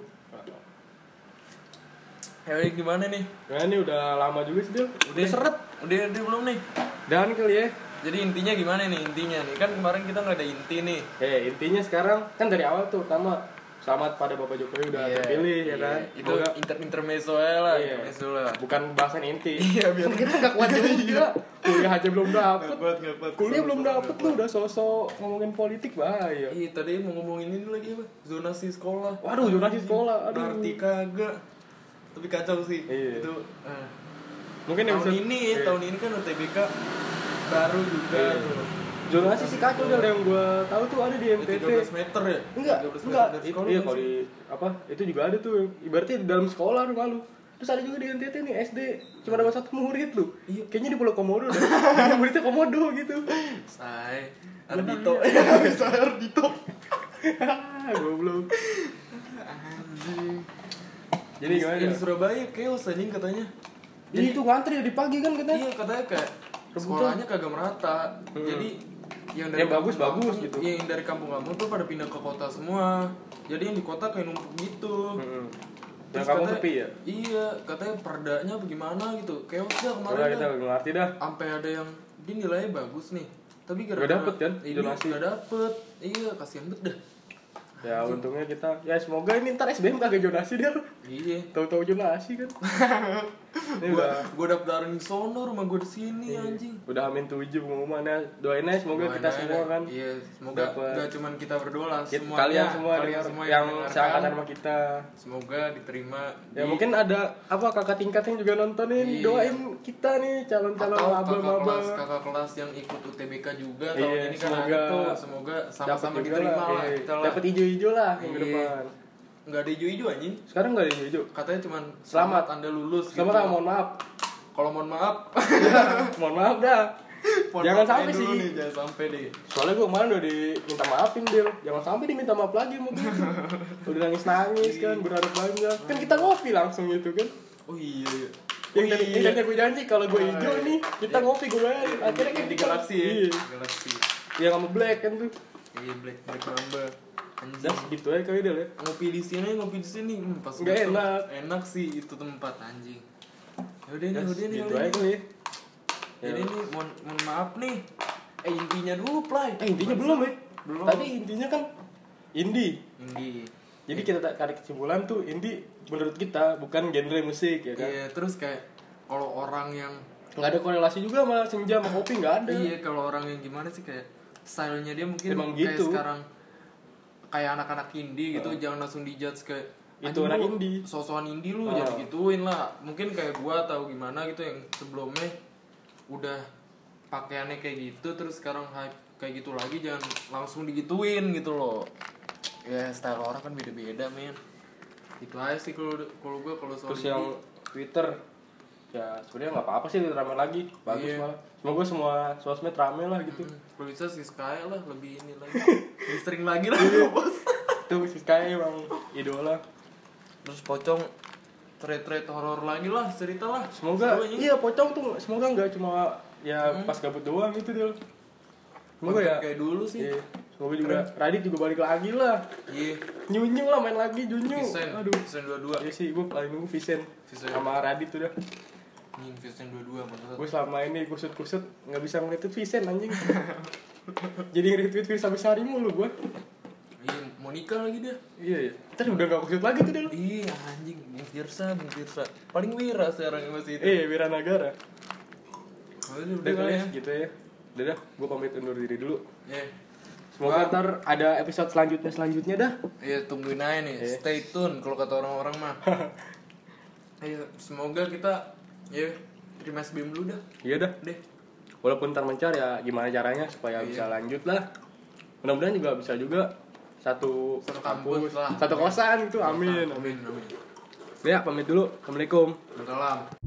Ya gimana nih? Nah, ini udah lama juga sih, Udah seret. Udah belum nih? Dan kali ya. Jadi intinya gimana nih intinya nih? Kan kemarin kita nggak ada inti nih. Intinya sekarang kan dari awal tuh pertama selamat pada Bapak Jokowi udah terpilih ya kan. Itu intermezzo lah. Intermezzo lah. Bukan bahasan inti. Iya, biar kita nggak kuat juga. Kuliah aja belum dapet. Nggak Kuliah belum dapet lu udah sosok ngomongin politik bahaya. Iya, tadi mau ngomongin ini lagi apa? Zonasi sekolah. Waduh, zonasi sekolah. Aduh. Berarti kagak. Tapi kacau sih. Iya. Itu mungkin tahun ini kan UTBK baru juga tuh. Zonasi sih kacau yang gue tahu tuh ada di MTT. 13 meter ya? Enggak. Iya, kalau di itu juga ada tuh. Ibaratnya di dalam sekolah rumah lu. Terus ada juga di NTT nih SD, cuma dapat 1 murid lu. Iya. Kayaknya di Pulau Komodo deh. Muridnya Komodo gitu. Ardito. Bisa Ardito. Goblok. Anjing. Jadi gimana? Di Surabaya chaos anjing katanya. Jadi itu ngantri dari pagi kan katanya. Iya, katanya kayak sekolahnya kagak merata. Jadi yang dari bagus gitu. Yang dari kampung-kampung tuh pada pindah ke kota semua. Jadi yang di kota kayak numpuk gitu. Yang kamu sepi ya? Iya, katanya perdanya bagaimana gitu. Chaos dah kemarin. Udah kita nggak ngerti dah. Sampai ada yang dia nilainya bagus nih. Tapi gak dapet kan? Donasi gak dapet. Iya, kasihan banget dah. Ya untungnya kita, ya semoga ini ntar SBM kagak jonasi dia. Iya. Tahu-tahu jonasi kan. Ini gua daftarin di sono, rumah gua di sini anjing. Udah amin 7 pengumumannya. Doain aja semoga kita semua kan. Iya, semoga enggak cuman kita berdua lah, kalian semua yang seangkatan sama kita. Semoga diterima. Ya mungkin ada kakak tingkat yang juga nontonin. Doain kita nih calon-calon maba-maba. Kakak kelas yang ikut UTBK juga tahun ini kan ada tuh. Semoga sama-sama diterima lah kita lah. Dapat hijau lah yang ke depan. Enggak ada hijau-hijau anjing. Sekarang enggak ada hijau. Katanya cuman selamat Anda lulus selamat gitu. Mohon maaf. Kalau mohon maaf. Mohon maaf dah. Jangan sampai sih. Jangan sampai deh. Soalnya gue kemarin udah diminta maafin Del. Jangan sampai diminta maaf lagi mungkin. Udah nangis kan, berharap banyak. Kan kita ngopi langsung gitu kan. Oh iya. Yang tadi gue janji kalau gue hijau nih, kita ngopi gue bayar. Akhirnya kan di Galaxy ya. Galaxy. Yang sama Black kan tuh. Iya, Black Mamba. Anjir gitu aja kali Del ya. Ngopi di sini pas enggak enak sih itu tempat anjing. Udah nih. Gitu aja kali ya. Jadi nih mohon maaf nih. Intinya dulu, Play. Intinya belum ya. Tadi intinya kan indie. Jadi kita tarik kesimpulan tuh indie menurut kita bukan genre musik ya kan. Iya, terus kayak kalau orang yang nggak ada korelasi juga sama senja sama kopi nggak ada. Iya, kalau orang yang gimana sih kayak stylenya dia mungkin emang kayak gitu. Sekarang kayak anak-anak indie gitu, jangan langsung dijudge kayak itu anak indie. Sosokan indie lu jangan gituin lah. Mungkin kayak gua atau gimana gitu yang sebelumnya udah pakaiannya kayak gitu terus sekarang hype kayak gitu lagi, jangan langsung digituin gitu loh. Ya style orang kan beda-beda men. Itu aja sih kalau gue kalau soal terus yang Twitter ya sebenarnya nggak apa-apa sih rame lagi, bagus malah. Semoga semua sosmed rame lah gitu. Kalau bisa si Sky lah lebih ini lagi, lebih sering lagi lah bos. Tuh si Sky emang idola. Terus Pocong thread horor lagi lah, cerita lah. Semoga iya Pocong tuh semoga nggak cuma ya pas gabut doang gitu deh. Semoga ya kayak dulu sih. Iya. Semoga juga Radit juga balik lagi lah. Iya. Nyunyu lah main lagi Junyu. Aduh, Vincent 22. Iya sih gue paling nunggu Vincent sama Radit tuh dah. Vincent 22 maksudnya. Gue selama ini kusut nggak bisa nge-retweet Vincent anjing. Jadi nge-retweet Firsa Besari mulu gue. Iya, mau nikah lagi dia. Iya. Terus udah gak kusut lagi tuh dia. Iya anjing, Bung Firsa. Paling Wira sekarang masih itu. Wira Nagara. Udah kali ya. Gitu ya. Udah, gue pamit undur diri dulu. Iya. Semoga ntar ada episode selanjutnya dah. Iya, tungguin aja nih. Stay tune kalau kata orang-orang mah. Ayo, semoga kita terima SBM dulu dah. Iya dah. Walaupun ntar mencar ya gimana caranya supaya bisa lanjut lah. Mudah-mudahan juga bisa juga satu kampus, satu kosan gitu. Amin. Amin. Ya, pamit dulu. Assalamualaikum. Waalaikumsalam.